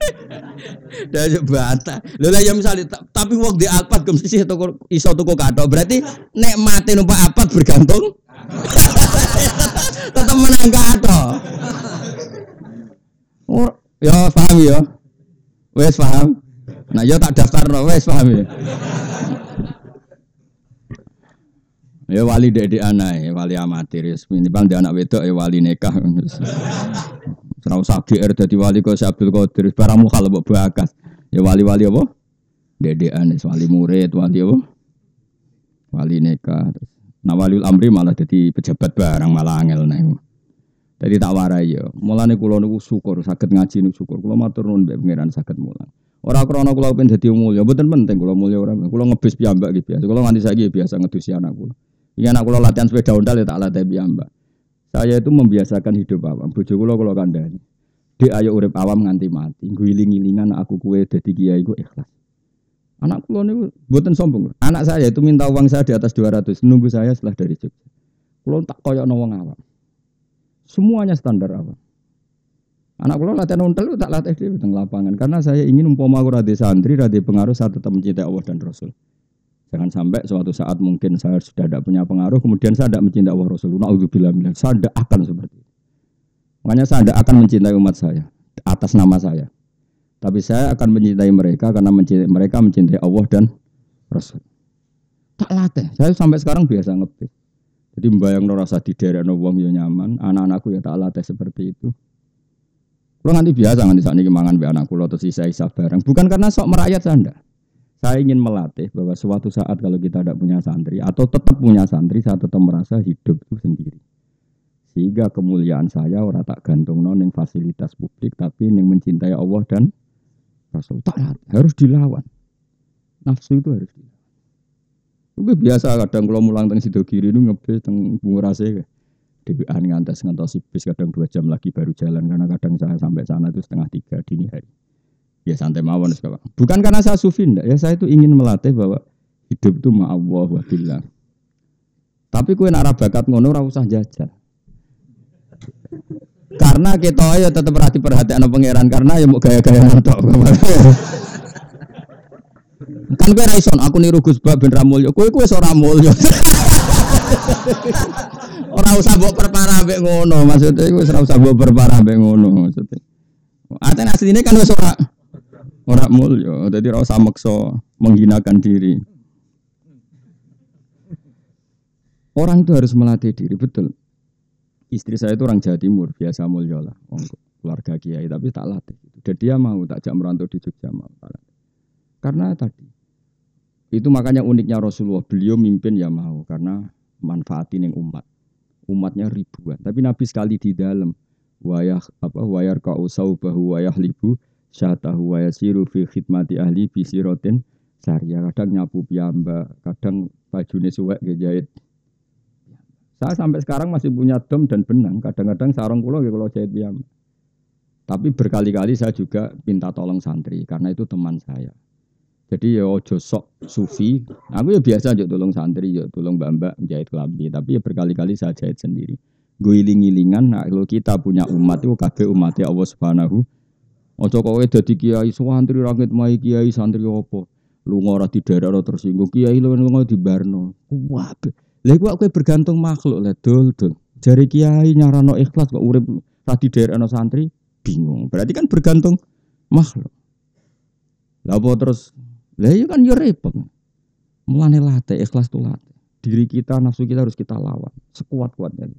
Dah bantah. Lho lah ya misale tapi wong di Alphard gem sisih toko iso toko kathok. Berarti nek mati numpak Alphard bergantung tetep menang kathok. Oh, ya paham ya. Wes paham. Nah, yo tak daftarno wes paham ya. Ya wali dek anae, wali amatir. Minimal dia anak wedok ya wali nikah. Ora usah G R dadi wali kok Abdul Qadir, barang mukhal mbok bakas. Ya wali-wali apa? Dedekan wali murid, wali apa? Wali nikah. Nah waliul amri malah dadi pejabat barang malah angel nek. Dadi tak warai ya. Mulane kula niku syukur saged ngaji niku syukur. Kula matur nuwun mbek pangeran saged mulang. Ora krana kula pengen dadi mulya, mboten penting kula mulya ora. Kula ngebis piyambak iki biasa. Kula nganti saiki biasa ngedusi anak kula. Iki anak kula latihan sepeda ontal ya tak latih piyambak. Saya itu membiasakan hidup awam. Bojo kula kula kandhani. Dek ayo urip awam nganti mati. Nggiling-ngilingan aku kuwe dadi kiai ku ikhlas. Anak kula niku mboten sombong. Anak saya itu minta uang saya di atas dua ratus, nunggu saya setelah dari Jogja. Kula tak koyokno wong awam. Semuanya standar awam. Anak kula latihan ontel tak latih di teng lapangan karena saya ingin umpama aku rada santri, rada pengaruh saya tetap mencintai Allah dan Rasul. Jangan sampai suatu saat mungkin saya sudah tidak punya pengaruh, kemudian saya tidak mencintai Allah Rasul. Na'udzubillah minal. Saya tidak akan seperti itu. Makanya saya tidak akan mencintai umat saya atas nama saya. Tapi saya akan mencintai mereka karena mencintai, mereka mencintai Allah dan Rasul. Tak latih. Saya sampai sekarang biasa ngebis. Jadi membayang rasa di daerah wong yo nyaman, anak-anakku ya tak latih seperti itu. Kulo nganti biasa nganti sakniki mangan mbek anakku terus sisa-sisa bareng. Bukan karena sok merakyat Anda. Saya ingin melatih bahwa suatu saat kalau kita tidak punya santri atau tetap punya santri, saya tetap merasa hidup itu sendiri. Sehingga kemuliaan saya ora tak gantungno ning fasilitas publik tapi ning mencintai Allah dan Rasul. Tak latih, harus dilawan. Nafsu itu harus dilawan. Itu biasa kadang kalau mulang teng Sidogiri itu ngebis teng Bungurase dewean ngantos ngantos bis kadang dua jam lagi baru jalan karena kadang saya sampai sana itu setengah tiga dini hari. Ya santai mawon sekarang. Bukan karena saya sufi ndak, ya saya itu ingin melatih bahwa hidup itu ma'allah wa billah. Tapi kowe nek ora bakat ngono ora usah jajal. Karena kita ya tetep ora diperhatikno pangeran karena ya mau gaya-gaya mentok. Kan kowe ra iso aku niru Gus Bab ben ra mulya. Kowe kowe wis ora mulya. Ora usah mbok perparah mbek ngono, maksudnya wis ora usah mbok perparah mbek ngono maksudnya. Artinya asline kan wis ora ora mulya, dadi ora usah maksa menghinakan diri. Orang itu harus melatih diri, betul. Istri saya itu orang Jawa Timur, biasa mulya lah, keluarga kiai, tapi tak latih. Dan dia mau tak jak merantau di Jogja mau. Karena tadi itu makanya uniknya Rasulullah, beliau mimpin ya mau karena manfaatin yang umat. Umatnya ribuan, tapi Nabi sekali di dalam wayah apa wayar kau saubahu wayah libu syatahu wayasiru fi khidmati ahli bisirotin sariya, kadang nyapu piyambak, kadang bajune suwek ngejahit. Saya sampai sekarang masih punya dom dan benang, kadang-kadang sarung kula nggih kula jahit piyambak. Tapi berkali-kali saya juga minta tolong santri karena itu teman saya. Jadi ya ojo sok sufi. Aku ya biasa aja tolong santri, ya tolong mbak-mbak jahit kelambi. Tapi ya berkali-kali saya jahit sendiri. Guiling-gilingan, nah kalau kita punya umat itu kabeh umatnya Allah Subhanahu. Ojo kowe dadi kiai santri rangit mai kiai santri opo. Lunga ora di daerah ora tersinggung. Kiai lunga di Barno. Wah. Lha iku kowe bergantung makhluk lah dul-dul. Jari kiai nyarano ikhlas kok urip ra di daerah ana santri bingung. Berarti kan bergantung makhluk. Lah apa terus lah iya kan yo repot. Mulane latih ikhlas tuh latih. Diri kita, nafsu kita harus kita lawan sekuat-kuatnya.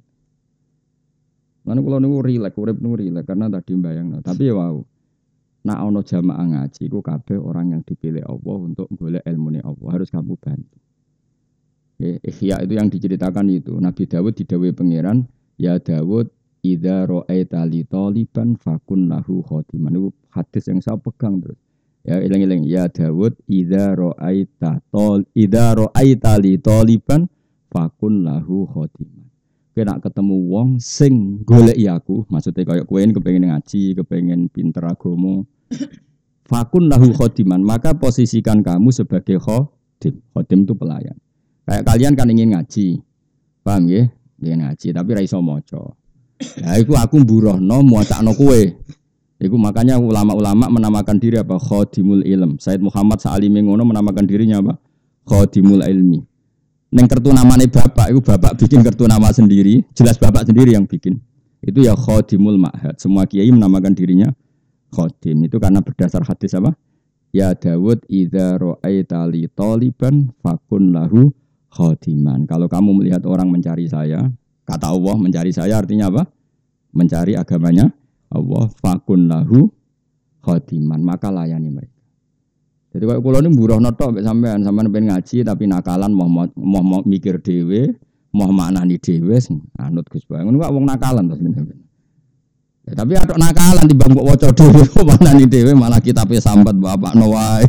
Lan kula niku rileks, urip niku rileks karena tadi mbayangno. Tapi ya wau. Nak ana jamaah ngaji iku kabeh orang yang dipilih Allah untuk golek ilmune Allah, harus kamu bantu. Ya, Ihya itu yang diceritakan itu. Nabi Dawud didhawuhi pangeran, ya Dawud idza ra'aita li taliban fakun lahu khatiman. Itu hadis yang saya pegang terus. Ya eling-eling ya Dawud idza ra'aita tol idza ra'aita li taliban fakun lahu khatiman. Kowe nak ketemu wong sing goleki aku, maksudnya kaya kowe kepengin ngaji, kepengin pinter agama. Fakun lahu khatiman, maka posisikan kamu sebagai khadim. Khadim itu pelayan. Kayak kalian kan ingin ngaji. Paham nggih? Ingin ngaji tapi ra iso maca. Lah iku aku mburohno muacakno kowe. Iku makanya ulama-ulama menamakan diri apa? Khadimul ilm. Said Muhammad Sa'alimi ngono menamakan dirinya apa? Khadimul ilmi. Neng kartu namanya bapak, itu bapak bikin kartu nama sendiri, jelas bapak sendiri yang bikin. Itu ya khadimul ma'had. Semua kiai menamakan dirinya khadim. Itu karena berdasar hadis apa? Ya Dawud idza ra'aita li taliban fakun lahu khadiman. Kalau kamu melihat orang mencari saya, kata Allah mencari saya artinya apa? Mencari agamanya Allah, fakun lahu khadiman, maka layani mereka. Jadi kalau kulo ini buruh notok sampean sampean pengen ngaji tapi nakalan mau mau, mau mikir dhewe, mau maknani dhewe anut Gus Bae. Ngono kok wong nakalan to sebenarnya. Ya, tapi ada nakalan timbang mbok waca dhewe maknani dhewe malah kitabe sambat bapakno wae.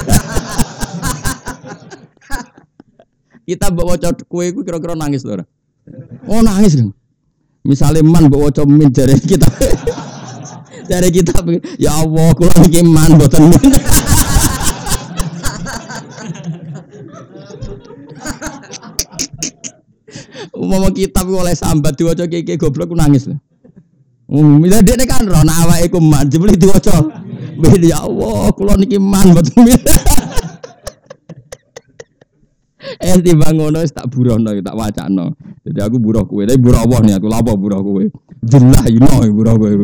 Kita mbok waca kowe iku kira-kira nangis lho ora? Oh nangis kan. Misale man mbok waca min jare kita. Jare kita ya Allah kula iki man mboten min. Umama kitab oleh sambat diwaca keke goblok ku nangis lho. Um, mila dekne kan ro nek awake ku man jebule diwaca. Ya Allah, kula niki man mboten. Eh timbang ngono wis tak burohno tak wacano. Jadi aku buruh kowe, tapi buruh Allah nih aku lapo buruh kowe. Jellahino buruh kowe.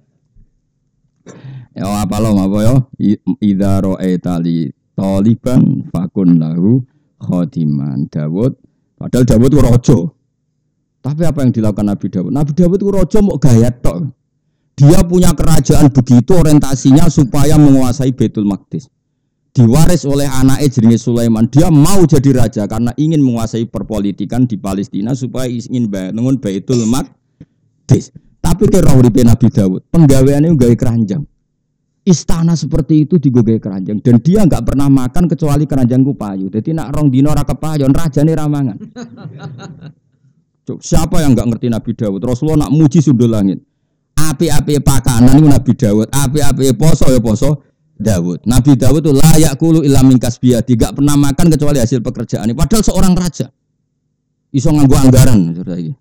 Ya apa lo apa ya? Idza ra'aita li taliban fakun lahu khadiman. Dawud padahal Dawud ku raja. Tapi apa yang dilakukan Nabi Dawud? Nabi Dawud itu raja mau gaya tok. Dia punya kerajaan begitu orientasinya supaya menguasai Baitul Maqdis. Diwaris oleh anaknya jenenge Sulaiman. Dia mau jadi raja karena ingin menguasai perpolitikan di Palestina supaya ingin bangun Baitul Maqdis. Tapi kira uripe Nabi Dawud, penggaweane gawe keranjang. Istana seperti itu digawe keranjang dan dia enggak pernah makan kecuali keranjang ku payu. Dadi nak rong dina ora kepayon rajane ramangan. Siapa yang enggak ngerti Nabi Dawud? Rasulullah nak muji sundul langit. Api-api pakanan itu Nabi Dawud, api-api poso ya poso Dawud. Nabi Dawud itu layak kulu illa min kasbiyati, enggak pernah makan kecuali hasil pekerjaan. Padahal seorang raja. Iso nganggo anggaran saudara iki.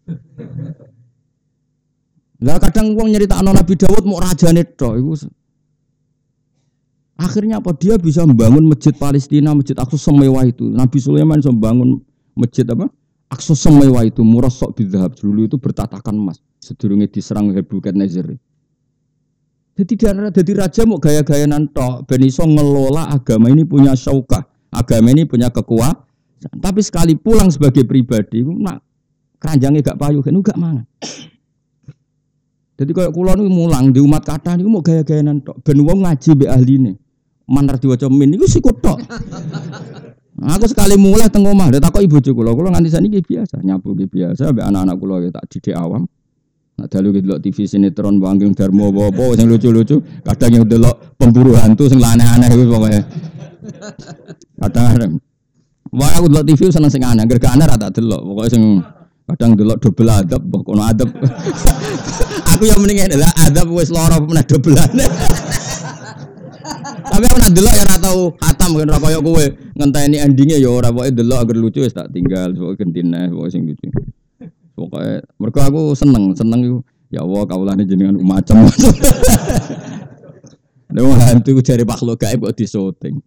Lah kadang wong nyeritakno Nabi Dawud mau rajane tok iku. Akhirnya apa dia bisa membangun masjid Palestina, masjid Aqsa semewah itu. Nabi Sulaiman bisa membangun masjid apa? Aqsa semewah itu murah sok bidhab dulu itu bertatakan emas. Sedurunge diserang Nebukadnezar. Jadi dia jadi raja mau gaya-gayanan tok ben iso ngelola agama ini punya syaukah. Agama ini punya kekuasaan. Tapi sekali pulang sebagai pribadi nak keranjange gak payu kan gak mangan. Jadi kalau kula niku mulang di umat kathah niku mau gaya-gayanan tok ben wong ngaji mbek ahline. Manar diwaca min niku sikut tok. Aku sekali mulai teng omah, tak kok ibu kula, kula nganti saniki biasa, nyapu biasa mbek anak-anak kula tak didik awam. Nak dalu delok T V sinetron Banggeng Darmo apa sing lucu-lucu, kadang yang delok pemburu hantu sing aneh-aneh iku pokoke. Kadang wah aku delok T V seneng sing aneh, anggere gak aneh ra tak delok, pokoke sing kadang delok double adab, kono adab. Aku yang mending adalah adab wis lara meneh dobelane. Tapi aku nak delok ya ora tau khatam kan ora koyo kowe ngenteni endinge ya ora pokoke delok agar lucu wis tak tinggal pokoke gentine pokoke sing lucu. Pokoke mergo aku seneng, seneng iku ya Allah kaulane jenengan macam-macam. Lha hantu jare makhluk gaib kok disoting.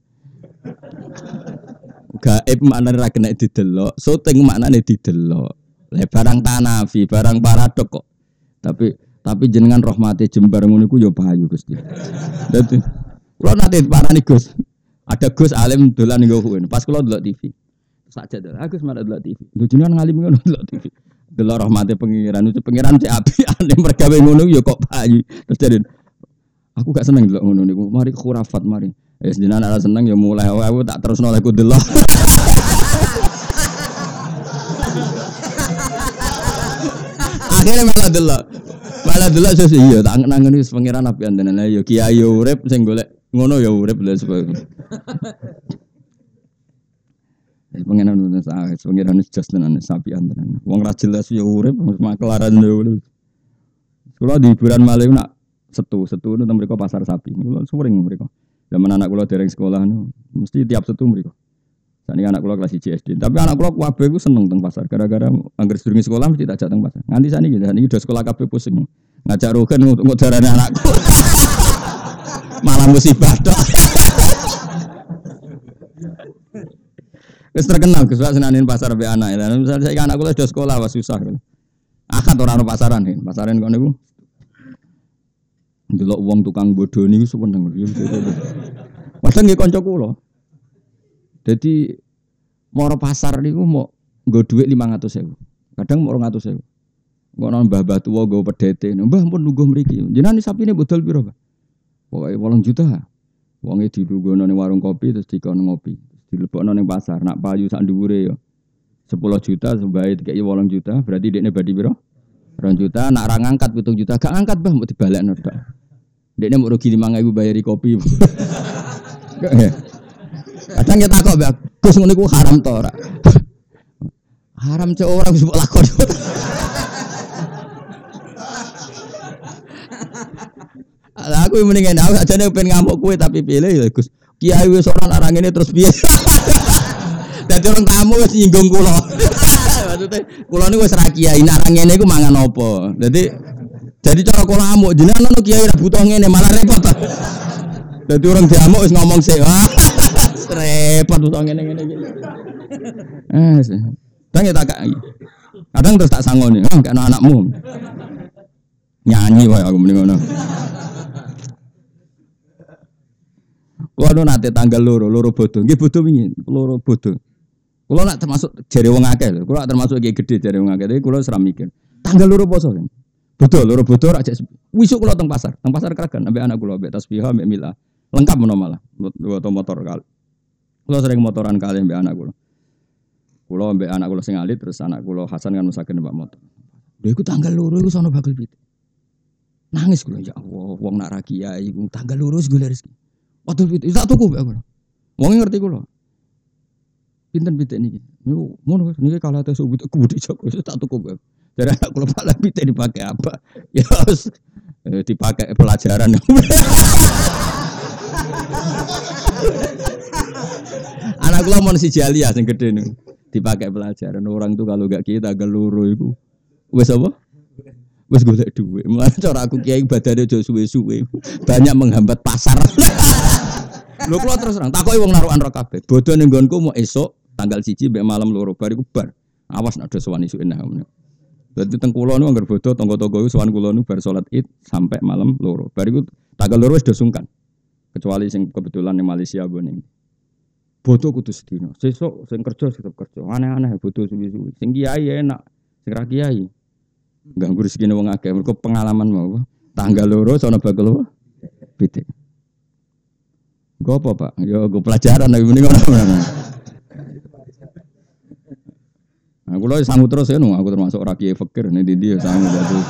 Gaib maknane ra kena didelok, syuting maknane didelok. Lah barang tanafi, barang paradok kok. Tapi tapi jenengan rahmate jembar ngono iku ya payu Gusti. Dadi kula nate parani Gus. Ada Gus alim dolan nggo kuwi. Pas kula delok T V. Sak jadal, Agus malah delok T V. Lho jenengan ngalim ngono delok T V. Delok rahmate pengiran, itu pengiran cek apiane mergawe ngono ya kok payu. Terus jadi aku gak seneng delok ngono niku. Mari khurafat mari. Wis jenengan ora seneng ya mulai aku tak terusno lek ku delok. Akhirnya malah delok. Malah delok sesuk iya tak nangen wis pengiran apian tenan. Ya kiai yo urip sing golek ngono ya urip lha sebab. Eh pengenan nulis ah pengiran wis just tenan sapian tenan. Wong ra jelas ya urip makelaran lho. Kula di hiburan malih nak setu, setu itu mriko pasar sapi. Kula sering mriko. Zaman anak kula dereng sekolah nu mesti tiap setu mriko. Sakniki anak kula kelas satu S D. Tapi anak kula kabeh ku seneng teng pasar gara-gara anggere sedurunge sekolah mesti tak ajak teng pasar. Nganti sakniki sakniki do sekolah kabeh pusing. Ngajak rogen untuk darane anakku. Malah musibah tok. Wis terkenal Gus Wak senanin pasar mbek anak. Lah misale saiki anak kula sudah sekolah wis susah. Akad ora ono pasaran iki. Pasaran kono niku. Ndelok wong tukang bodho niku seneng. Padahal nggih kanca kula. Dadi moro pasar niku mau nggo dhuwit lima ratus ribu. Kadang mau dua ratus ribu. Ngono mbah-mbah tuwa nggo pedhete. Mbah pun lungguh mriki. Jenengan sapine bodol piro, Pak? Pokoke wolung juta. Wonge dilungguhno ning warung kopi terus dikon ngopi. Dilebokno ning pasar. Nak payu sak dhuwure yo sepuluh juta sembahe dikeki wolung juta, berarti dekne badi piro? dua juta, nak ra ngangkat pitung juta. Gak ngangkat, Mbah, mbok dibalekno tok. Dekne mau rugi lima ribu bayari kopi. Kadang kita takok, Mbak, Gus ngono iku haram to ora? Haram cek ora wis mbok lakon. Lah aku mendingan aku ajane pengen ngamuk kowe tapi pilih ya Gus. Kiai wis ora larang ngene terus piye? Dadi orang tamu wis nyinggung kula. Maksudnya kula niku wis ra kiai, nek arang ngene iku mangan apa. Dadi jadi cara kula amuk jenengan ono kiai ra butuh ngene malah repot. Dadi orang diamuk wis ngomong sik. Repot butuh ngene-ngene iki. Eh, Bang ya tak kadang terus tak sangoni, ah gak ana anakmu. Nyanyi wae aku mending ngono. Kulo nate tanggal loro, loro bodo. Nggih bodo wingi, loro bodo. Kulo nak termasuk jare wong akeh lho. Kulo nak termasuk iki gedhe jare wong akeh. Tapi kulo ora mikir. Tanggal loro poso kan. Bodo, loro bodo rak wisuk kulo teng pasar. Teng pasar Kragan ambek anak kulo, ambek tasbih, ambek mila. Lengkap menawa malah. Motor motor kali. Kulo sering motoran kali ambek anak kulo. Kulo ambek anak kulo sing alit terus anak kulo Hasan kan mesaken numpak motor. Lha iku tanggal loro iku sono bakal pitik. Nangis kulo ya Allah, wong nak ra kiai iku tanggal loro wis golek rezeki. Waduh pitik, tak tuku mbek aku. Wong ngerti kulo. Pinten pitik niki? Niku ngono niki kalah tes ubud kubudi Joko tak tuku mbek. Dari anak kulo pala pitik dipakai apa? Ya harus eh, dipakai pelajaran. Anak kulo mon si Jalia sing gedhe niku. Dipakai pelajaran orang tuh kalau gak kita tanggal loro iku wis apa? Wis golek dhuwit. Mulane cara aku kiai badane aja suwe-suwe. Banyak menghambat pasar. Lho kula terus terang takoki wong narukan ro kabeh. Bodho ning nggonku mau esuk tanggal siji mbek malam loro bar iku bar. Awas nek ada sowan isuk enah. Dadi teng kula niku anggere bodho tangga-tangga iku sowan kula niku bar salat Id sampai malam loro. Bar iku tanggal loro wis do sungkan. Kecuali sing kebetulan ning Malaysia boning. Bodho kudu sedina. Sesuk sing kerja tetep kerja. Aneh-aneh bodho suwi-suwi. Sing kiai enak, sing ra kiai ganggu rezekine wong akeh. Mergo pengalaman mau. Tanggal loro sono bakal apa? Pitik. Go apa, Pak? Ya go pelajaran nek mending ngono. Aku lho sangu terus ya, aku termasuk ora kiai fakir nek ndi ya sangu terus.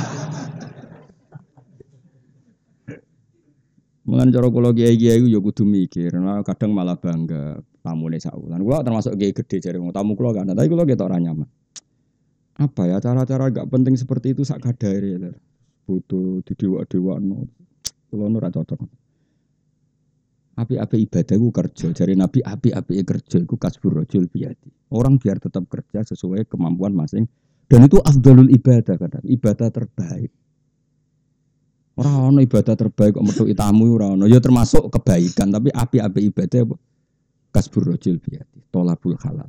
Mengan cara kula kiai-kiai ku ya kudu mikir. Nah, kadang malah bangga tamune saulan. Kula termasuk kiai gede jare wong tamu kula kan, tapi kula ketok ora nyaman. Apa ya cara-cara gak penting seperti itu sak kadare ya. Butuh didewa-dewano. Kula ora cocok. Api-api ibadah ku kerja, jare Nabi api-api kerja iku kasbur rajul biyadi. Orang biar tetap kerja sesuai kemampuan masing dan itu afdalul ibadah kadang, ibadah terbaik. Ora ono ibadah terbaik kok metu tamu ora ono. Ya termasuk kebaikan, tapi api-api ibadah apa? Kasbur rajul biyadi, tolabul halal.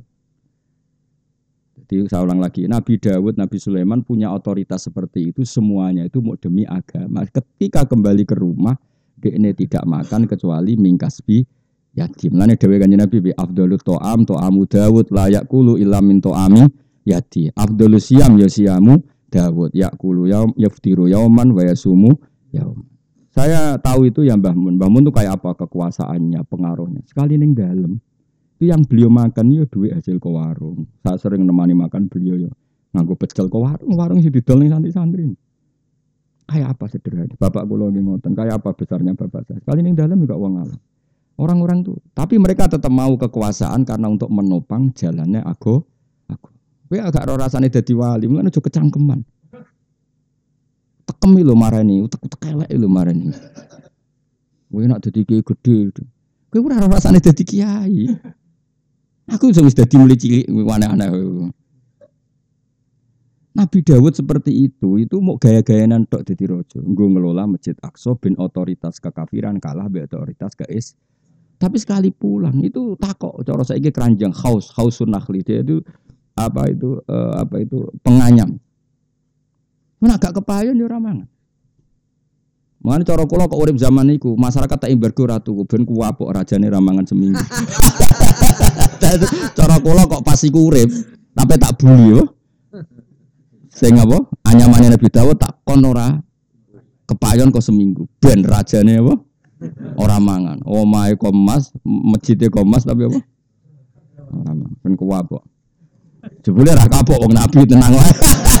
Jadi saya ulang lagi, Nabi Dawud, Nabi Sulaiman punya otoritas seperti itu, semuanya itu mau demi agama. Ketika kembali ke rumah, dia tidak makan kecuali mingkasbi yatim. Lane dhewe kanjeng Nabi bi afdalut ta'am ta'amu Dawud la yaqulu illa min ta'ami yati. Afdalus siyam ya siyamu Dawud yaqulu yaum yaftiru yauman wa yasumu yaum. Saya tahu itu ya Mbah Mun. Mbah Mun itu kayak apa kekuasaannya, pengaruhnya. Sekali ning dalem itu yang beliau makan yo duit hasil ke warung. Saya sering nemani makan beliau yo nganggo pecel ke warung, warung sing didol ning santri-santri. Kayak apa sederhana? Bapak kula nggih ngoten. Kayak apa besarnya bapak saya? Sekali ning dalem juga wong alam. Orang-orang tuh, tapi mereka tetap mau kekuasaan karena untuk menopang jalannya aku. Aku. Kowe agak ora rasane dadi wali, mulane aja kecangkeman. Tekemi lho marani, utek-utek elek lho marani. Kowe nek dadi kiai gedhe. Kowe ora rasane dadi kiai. Aku wis dadi mulai cilik aneh-aneh. Nabi Dawud seperti itu, itu mau gaya-gayanan tok dadi raja. Nggo ngelola Masjid Aqsa ben otoritas kekafiran kalah be otoritas keis. Tapi sekali pulang itu takok cara saiki keranjang haus, hausun nakhli dia itu apa itu uh, apa itu penganyam. Mun agak kepayon yo ora mangan. Mane cara kula kok urip zaman niku, masyarakat tak embargo ratu ben kuwapuk rajane ra mangan seminggu. Cara kula kok pas iku urip, tapi tak buli yo. Sing apa? Anyamane Nabi Dawud tak kon ora kepayon kok seminggu. Ben rajane apa? Ora mangan. Omahe komas, masjide komas tapi apa? Ora mangan. Ben kuwapuk. Jebule ra kapok wong Nabi tenang wae.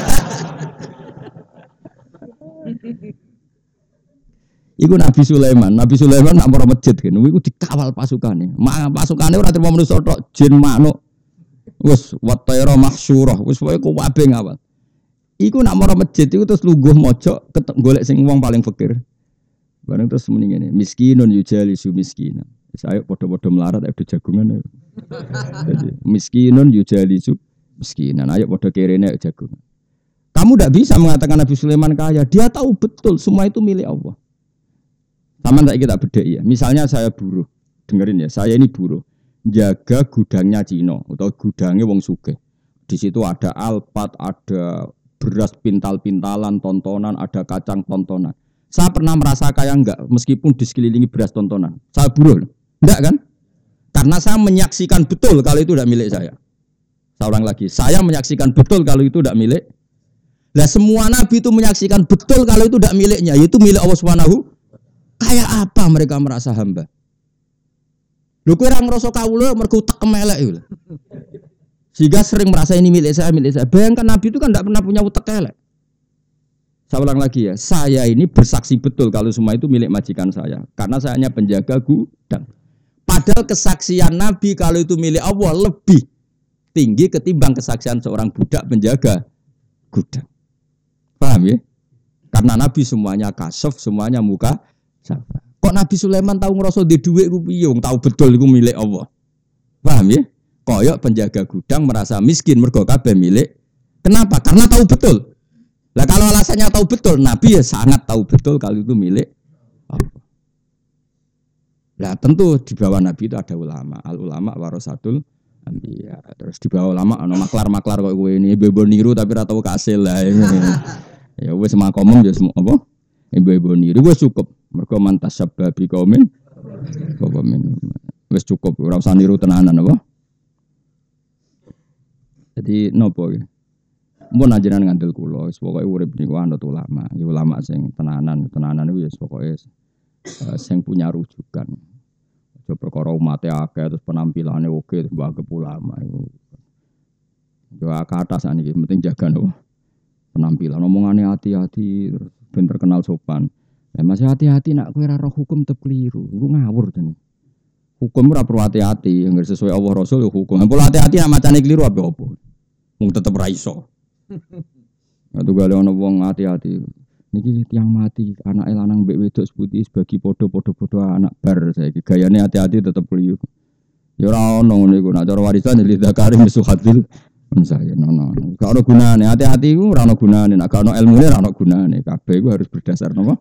Iku Nabi Sulaiman, Nabi Sulaiman nak marang masjid kan, iku dikawal pasukane. Mak pasukane ora terima manusa tok, jin manuk. Wis watayra mahsyurah, wis wae kabeh ngawal. Iku nak marang masjid iku terus lungguh mojok golek sing wong paling fakir. Bareng terus muni ngene, miskinun yujalisu miskinan. Wis ayo padha-padha melarat ayo jagungan. Jadi miskinun yujalisu miskinan, ayo padha kerene ayo jagungan. Kamu tidak bisa mengatakan Nabi Sulaiman kaya, dia tahu betul semua itu milik Allah. Sama tak kita beda ya. Misalnya saya buruh, dengerin ya, saya ini buruh, jaga gudangnya Cino atau gudangnya wong sugih. Di situ ada alpat, ada beras pintal-pintalan, tontonan, ada kacang tontonan. Saya pernah merasa kaya enggak, meskipun di sekelilingi beras tontonan. Saya buruh, enggak kan? Karena saya menyaksikan betul kalau itu tidak milik saya. Saya ulang lagi, saya menyaksikan betul kalau itu tidak milik. Lah semua nabi itu menyaksikan betul kalau itu tidak miliknya, yaitu milik Allah Subhanahu. Kayak apa mereka merasa hamba? Lho kowe ora ngrasa kawula mergo utek kemelek iku. Sehingga sering merasa ini milik saya, milik saya. Bayangkan Nabi itu kan tidak pernah punya utek elek. Saya ulang lagi ya, saya ini bersaksi betul kalau semua itu milik majikan saya. Karena saya hanya penjaga gudang. Padahal kesaksian Nabi kalau itu milik Allah lebih tinggi ketimbang kesaksian seorang budak penjaga gudang. Paham ya? Karena Nabi semuanya kasaf, semuanya muka sabar. Kok Nabi Sulaiman tahu ngerasa di duit ku piye wong tahu betul iku milik Allah. Paham ya? Koyok penjaga gudang merasa miskin mergo kabeh milik. Kenapa? Karena tahu betul. Lah kalau alasannya tahu betul, Nabi ya sangat tahu betul kalau itu milik Allah. Lah tentu di bawah Nabi itu ada ulama. Al ulama warasatul anbiya. Terus di bawah ulama ana maklar-maklar kok kowe ini ibu-ibu niru tapi ora tau kasil lah. Ya wis makomong ya semua apa? Ibu-ibu niru wis cukup. Mergo mantas sababi kaumin kaumin. Wis cukup ora usah niru tenanan apa? Jadi nopo ya? Mun ajaran ngandel kula, wis pokoke urip niku anut ulama. Ya ulama sing tenanan, tenanan iku ya pokoke uh, sing punya rujukan. Aja perkara umate akeh terus penampilane oke terus mbah ulama iku. Yo kata saniki penting jaga nopo? Penampilan omongane hati-hati terus ben terkenal sopan. Lah masih hati-hati nak kowe ora roh hukum tetep keliru. Iku ngawur tenan. Hukum ora perlu hati-hati, enggak sesuai Allah Rasul yo hukum. Perlu hati-hati nak macane keliru apa opo. Mung tetep ra iso. Atu gale ana wong hati-hati. Niki tiyang mati, anake lanang mbek wedok seputi sebagi padha-padha anak bar saiki. Gayane hati-hati tetep keliru. Ya ora ono ngono iku. Nak cara warisan li zakari misuhatil saya nono. Gak ono gunane. Hati-hati iku ora ono gunane. Nek gak ono ilmune ora ono gunane. Kabeh iku harus berdasar napa?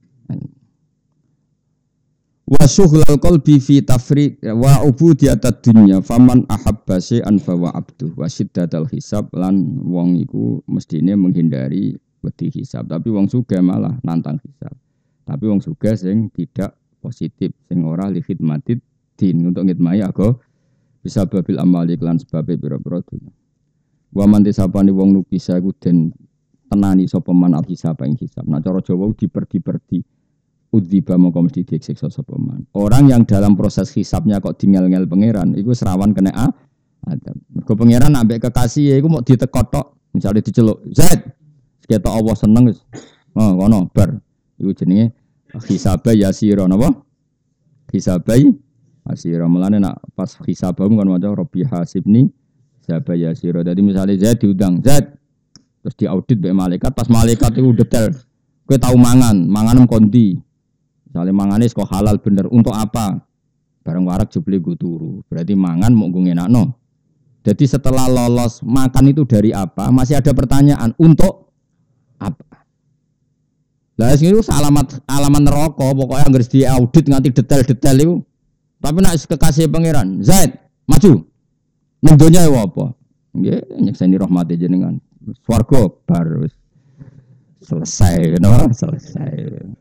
Wa syughlal qalbi fi tafriq wa ubudiyatad dunya faman ahabba syai'an fa wa abdu wa syiddatal hisab lan wong iku mestine menghindari wedi hisab tapi wong sugih malah nantang hisab tapi wong sugih sing tidak positif sing ora li khidmatid din untuk ngitmai aga bisa babil amali lan sebabe pira-pira dunya wa man disapani wong nukisa iku den tenani sapa man al hisab ing hisab nah cara Jawa diperdi-perdi udziba mongko mesti disiksa sapa man. Orang yang dalam proses hisabnya kok dingel-ngel pangeran, iku serawan kena a adab. Mergo pangeran ambek kekasih iku mau ditekot tok, misale diceluk, "Zaid." Ketok Allah seneng wis. Oh, ngono bar. Iku jenenge hisaba yasira napa? Hisaba yasira. Mulane nak pas hisabmu kan maca Rabbi hasibni hisaba yasira. Dadi misale Zaid diundang, "Zaid." Terus diaudit mbek malaikat, pas malaikat iku detail. Kowe tau mangan, manganem kondi. Misalnya mangane kok halal bener untuk apa? Bareng warak jebule go turu. Berarti mangan mau nggo ngenakno. Jadi setelah lolos makan itu dari apa? Masih ada pertanyaan untuk apa? Lah itu alamat alamat neraka pokoknya harus diaudit nganti detail-detail itu. Tapi nak kekasih pangeran, Zaid, maju. Ning donya ya apa? Nggih, nyekseni rahmate jenengan. Swarga bar selesai, no? Selesai.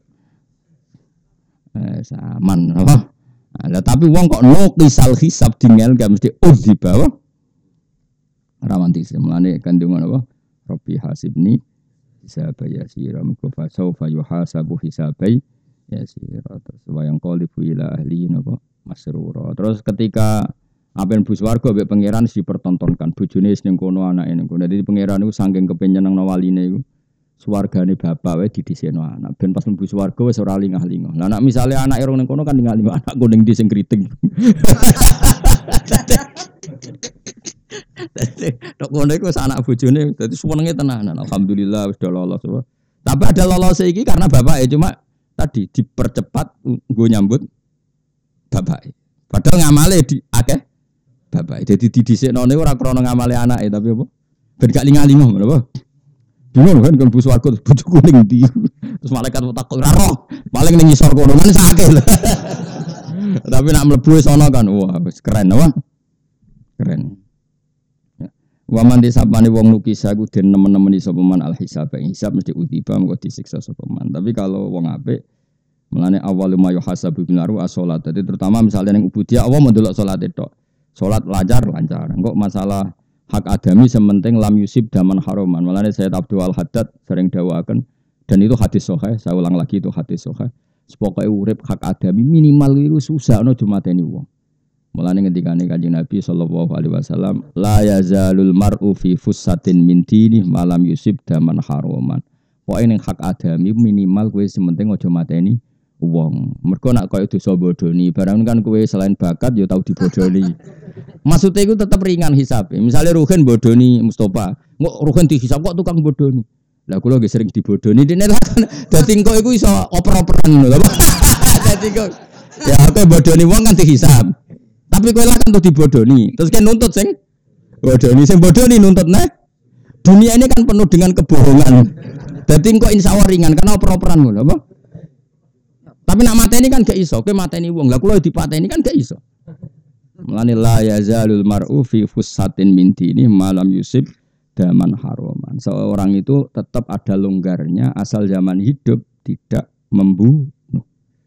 Eh, saman, apa? Nah, tapi wong kok no kisal hisab dingel gak mesti udhi bawah. Rawanti semulane kandungan apa? Rabbi hasibni hisaba yasira miko fa sawfa yuhasabu hisabai yasira terus wayang qalibu ila ahli napa masrura. Terus ketika apen bus warga mbek pangeran dipertontonkan bojone wis ning kono anake ning kono. Dadi pangeran niku saking kepen nyenengno waline iku swargane bapak wae didhisikno anak ben pas mlebu swarga wis ora lingah-lingah. Lah nek misale anake rong ning kono kan lingah-lingah anakku ning ndi sing kriting. Tok ngono iku anak bojone dadi senenge tenanan. Alhamdulillah wis do lolos. Tapi ada lolos iki karena bapake cuma tadi dipercepat nggo nyambut bapake. Padahal ngamale di akeh bapake. Jadi didhisikno ora krana ngamale anake tapi apa? Ben gak lingah-lingah ngono apa? Bingung kan kan bus warga bojoku ning ndi. Terus malaikat takok ora roh. Paling ning ngisor kono men sakake. Tapi nak mlebu sono kan wah wis keren apa? Keren. Wa man disapane wong lukisa ku den nemen-nemeni sapa man al hisab hisab mesti utiba mengko disiksa sapa man. Tapi kalau wong apik mulane awal ma yuhasabu bil aru as-shalat. Jadi terutama misalnya ning ubudiyah Allah mendelok salat tok. Salat lancar lancar. Engko masalah hak adami sementing lam yusib daman haroman. Mulane Sayyid Abdul Al-Haddad sering dawakan dan itu hadis sahih, saya ulang lagi itu hadis sahih. Sepokoke urip hak adami minimal iku susah ana jumateni wong. Mulane ngendikane Kanjeng Nabi sallallahu alaihi wasallam, la yazalul mar'u fi fussatin min dini malam yusib daman haroman. Pokoke ning hak adami minimal kowe sementing aja mateni wong. Mergo nek koyo dosa bodoni, barang kan kowe selain bakat ya tau dibodoni. Maksudnya itu tetap ringan hisab. Misalnya Ruhin bodoni Mustafa, kok Ruhin dihisab kok tukang bodoni. Lah kula nggih sering dibodoni. Dene kan dadi engko iku iso oper-operan lho. Dadi kok ya aku bodoni wong kan dihisab. Tapi kowe lah kan tuh dibodoni. Terus kan nuntut sing bodoni, sing bodoni nuntut nah. Dunia ini kan penuh dengan kebohongan. Dadi engko insyaallah ringan karena oper-operan lho, apa? Tapi nak mateni kan gak iso. Kowe mateni wong. Lah kula dipateni kan gak iso. Mulane la yazalul mar'u fi fussatin min dini malam yusib daman haroman. Seorang itu tetap ada longgarnya asal zaman hidup tidak membunuh.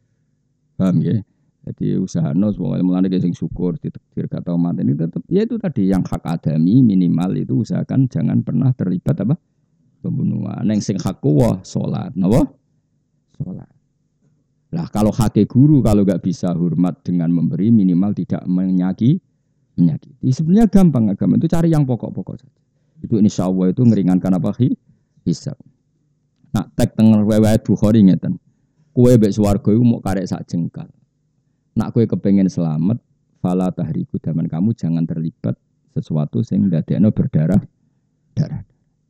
Paham ya? Jadi usahano semoga mulane sing syukur ditakdir kata umat ini tetap ya itu tadi yang hak adami minimal itu usahakan jangan pernah terlibat apa? Pembunuhan. Yang sing hak kuwa salat, napa? Salat. Lah kalau hake guru kalau enggak bisa hormat dengan memberi minimal tidak menyakiti menyakiti. Sebenarnya gampang agama itu cari yang pokok-pokok saja. Itu insyaallah itu ngeringankan apa hisab. Nak tek teng riwayat Bukhari ngeten. Kowe mbek swarga iku mok karek sak jengkal. Nak kowe kepengin selamat fala tahriku daman kamu jangan terlibat sesuatu sing ndadekno berdarah darah.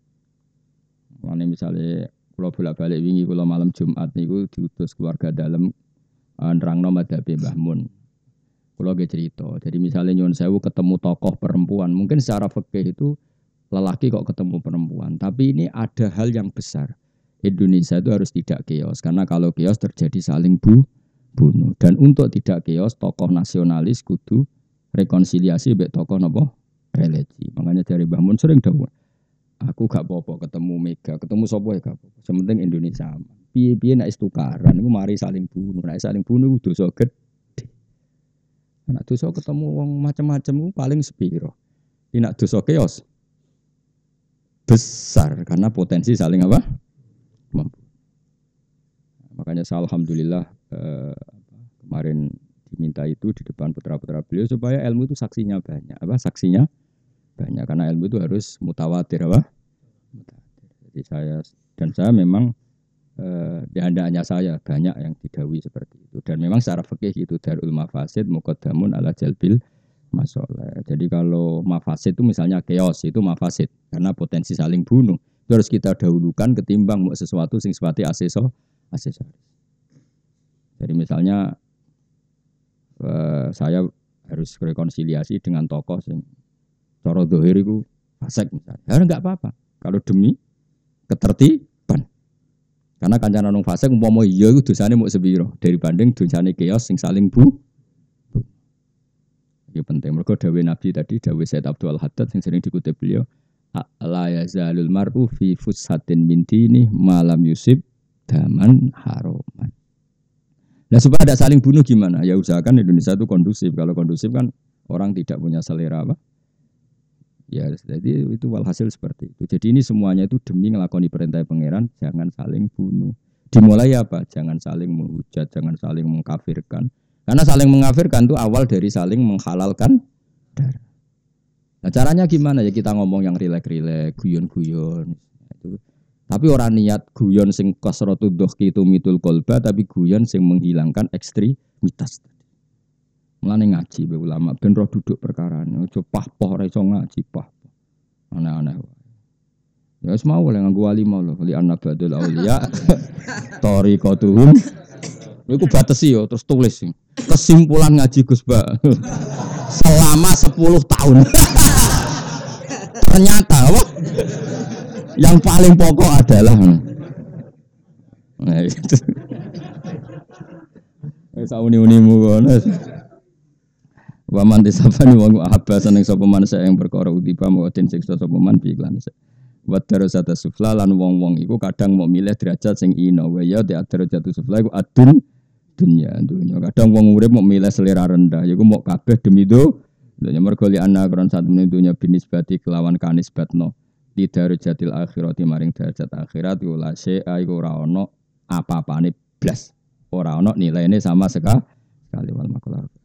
Mane misale kula bolak-balik wingi kula malam Jumat niku diutus keluarga dalam uh, nerangno madhabe Mbah Mun. Kula ge cerita. Jadi misalnya nyuwun sewu ketemu tokoh perempuan, mungkin secara fikih itu lelaki kok ketemu perempuan, tapi ini ada hal yang besar. Indonesia itu harus tidak keos karena kalau keos terjadi saling bu bunuh. Dan untuk tidak keos tokoh nasionalis kudu rekonsiliasi mbek tokoh napa religi. Makanya dari Mbah Mun sering dawuh aku gak apa-apa ketemu Mega, ketemu sapa ya gak apa-apa. Sementing Indonesia aman. Piye-piye nek tukaran iku mari saling bunuh. Nek saling bunuh iku dosa gedhe. Nek dosa ketemu wong macam-macam iku paling sepiro. Nek dosa keos besar karena potensi saling apa? Mampu. Makanya saya alhamdulillah eh, kemarin diminta itu di depan putra-putra beliau supaya ilmu itu saksinya banyak. Apa saksinya? Banyak karena ilmu itu harus mutawatir apa? Mutawatir. Jadi saya dan saya memang eh, di hendaknya saya banyak yang didhawuhi seperti itu dan memang secara fikih itu darul mafasid muqaddamun ala jalbil masalah. Jadi kalau mafasid itu misalnya chaos itu mafasid karena potensi saling bunuh. Itu harus kita dahulukan ketimbang sesuatu sing sifatnya aseso aksesoris. Jadi misalnya eh, saya harus rekonsiliasi dengan tokoh sing cara zahir iku fasik misalnya. Ya enggak apa-apa. Kalau demi ketertiban. Karena kancane nang fasik umpama iya iku dosane muk sepiro dibanding dosane kios sing saling bu. Ya penting mergo dawuh Nabi tadi dawuh Said Abdul Haddad yang sering dikutip beliau la yazalul mar'u fi fushatin min dini malam yusib daman haroman. Nah supaya tidak saling bunuh gimana? Ya usahakan Indonesia itu kondusif. Kalau kondusif kan orang tidak punya selera apa? Ya jadi itu walhasil seperti itu. Jadi ini semuanya itu demi ngelakoni perintah pangeran, jangan saling bunuh. Dimulai apa? Jangan saling menghujat, jangan saling mengkafirkan. Karena saling mengkafirkan itu awal dari saling menghalalkan darah. Nah caranya gimana ya kita ngomong yang rilek-rilek, guyon-guyon. Itu. Tapi orang niat guyon sing kasratu dohki itu mitul kolba, tapi guyon sing menghilangkan ekstremitas. Mulane ngaji be ulama ben roh duduk perkarane, aja pah-poh ora iso ngaji pah. Aneh-aneh. Ya wis mau oleh nganggo wali mau lho, li anak badul auliya. Tariqatuhum. Iku batesi yo terus tulis. Kesimpulan ngaji Gus Ba. Selama sepuluh tahun. Ternyata apa? Yang paling pokok adalah nah itu. Wis uni-unimu ngono. Wa man tisafani wa ahabbasan ing sapa man yang perkara utiba mu'tin siksa sapa man bi iklan. Wa darajat sufla lan wong-wong iku kadang mau milih derajat sing ina wa ya di derajat sufla iku adun dunya dunya. Kadang wong urip mau milih selera rendah iku mau kabeh demi do. Lha mergo li ana kron sak meneh dunya binisbati kelawan kanisbatno. Di darajatil akhirati maring derajat akhirat la syai'a iku ora ana apa-apane blas. Ora ana nilaine sama sekali wal makolar.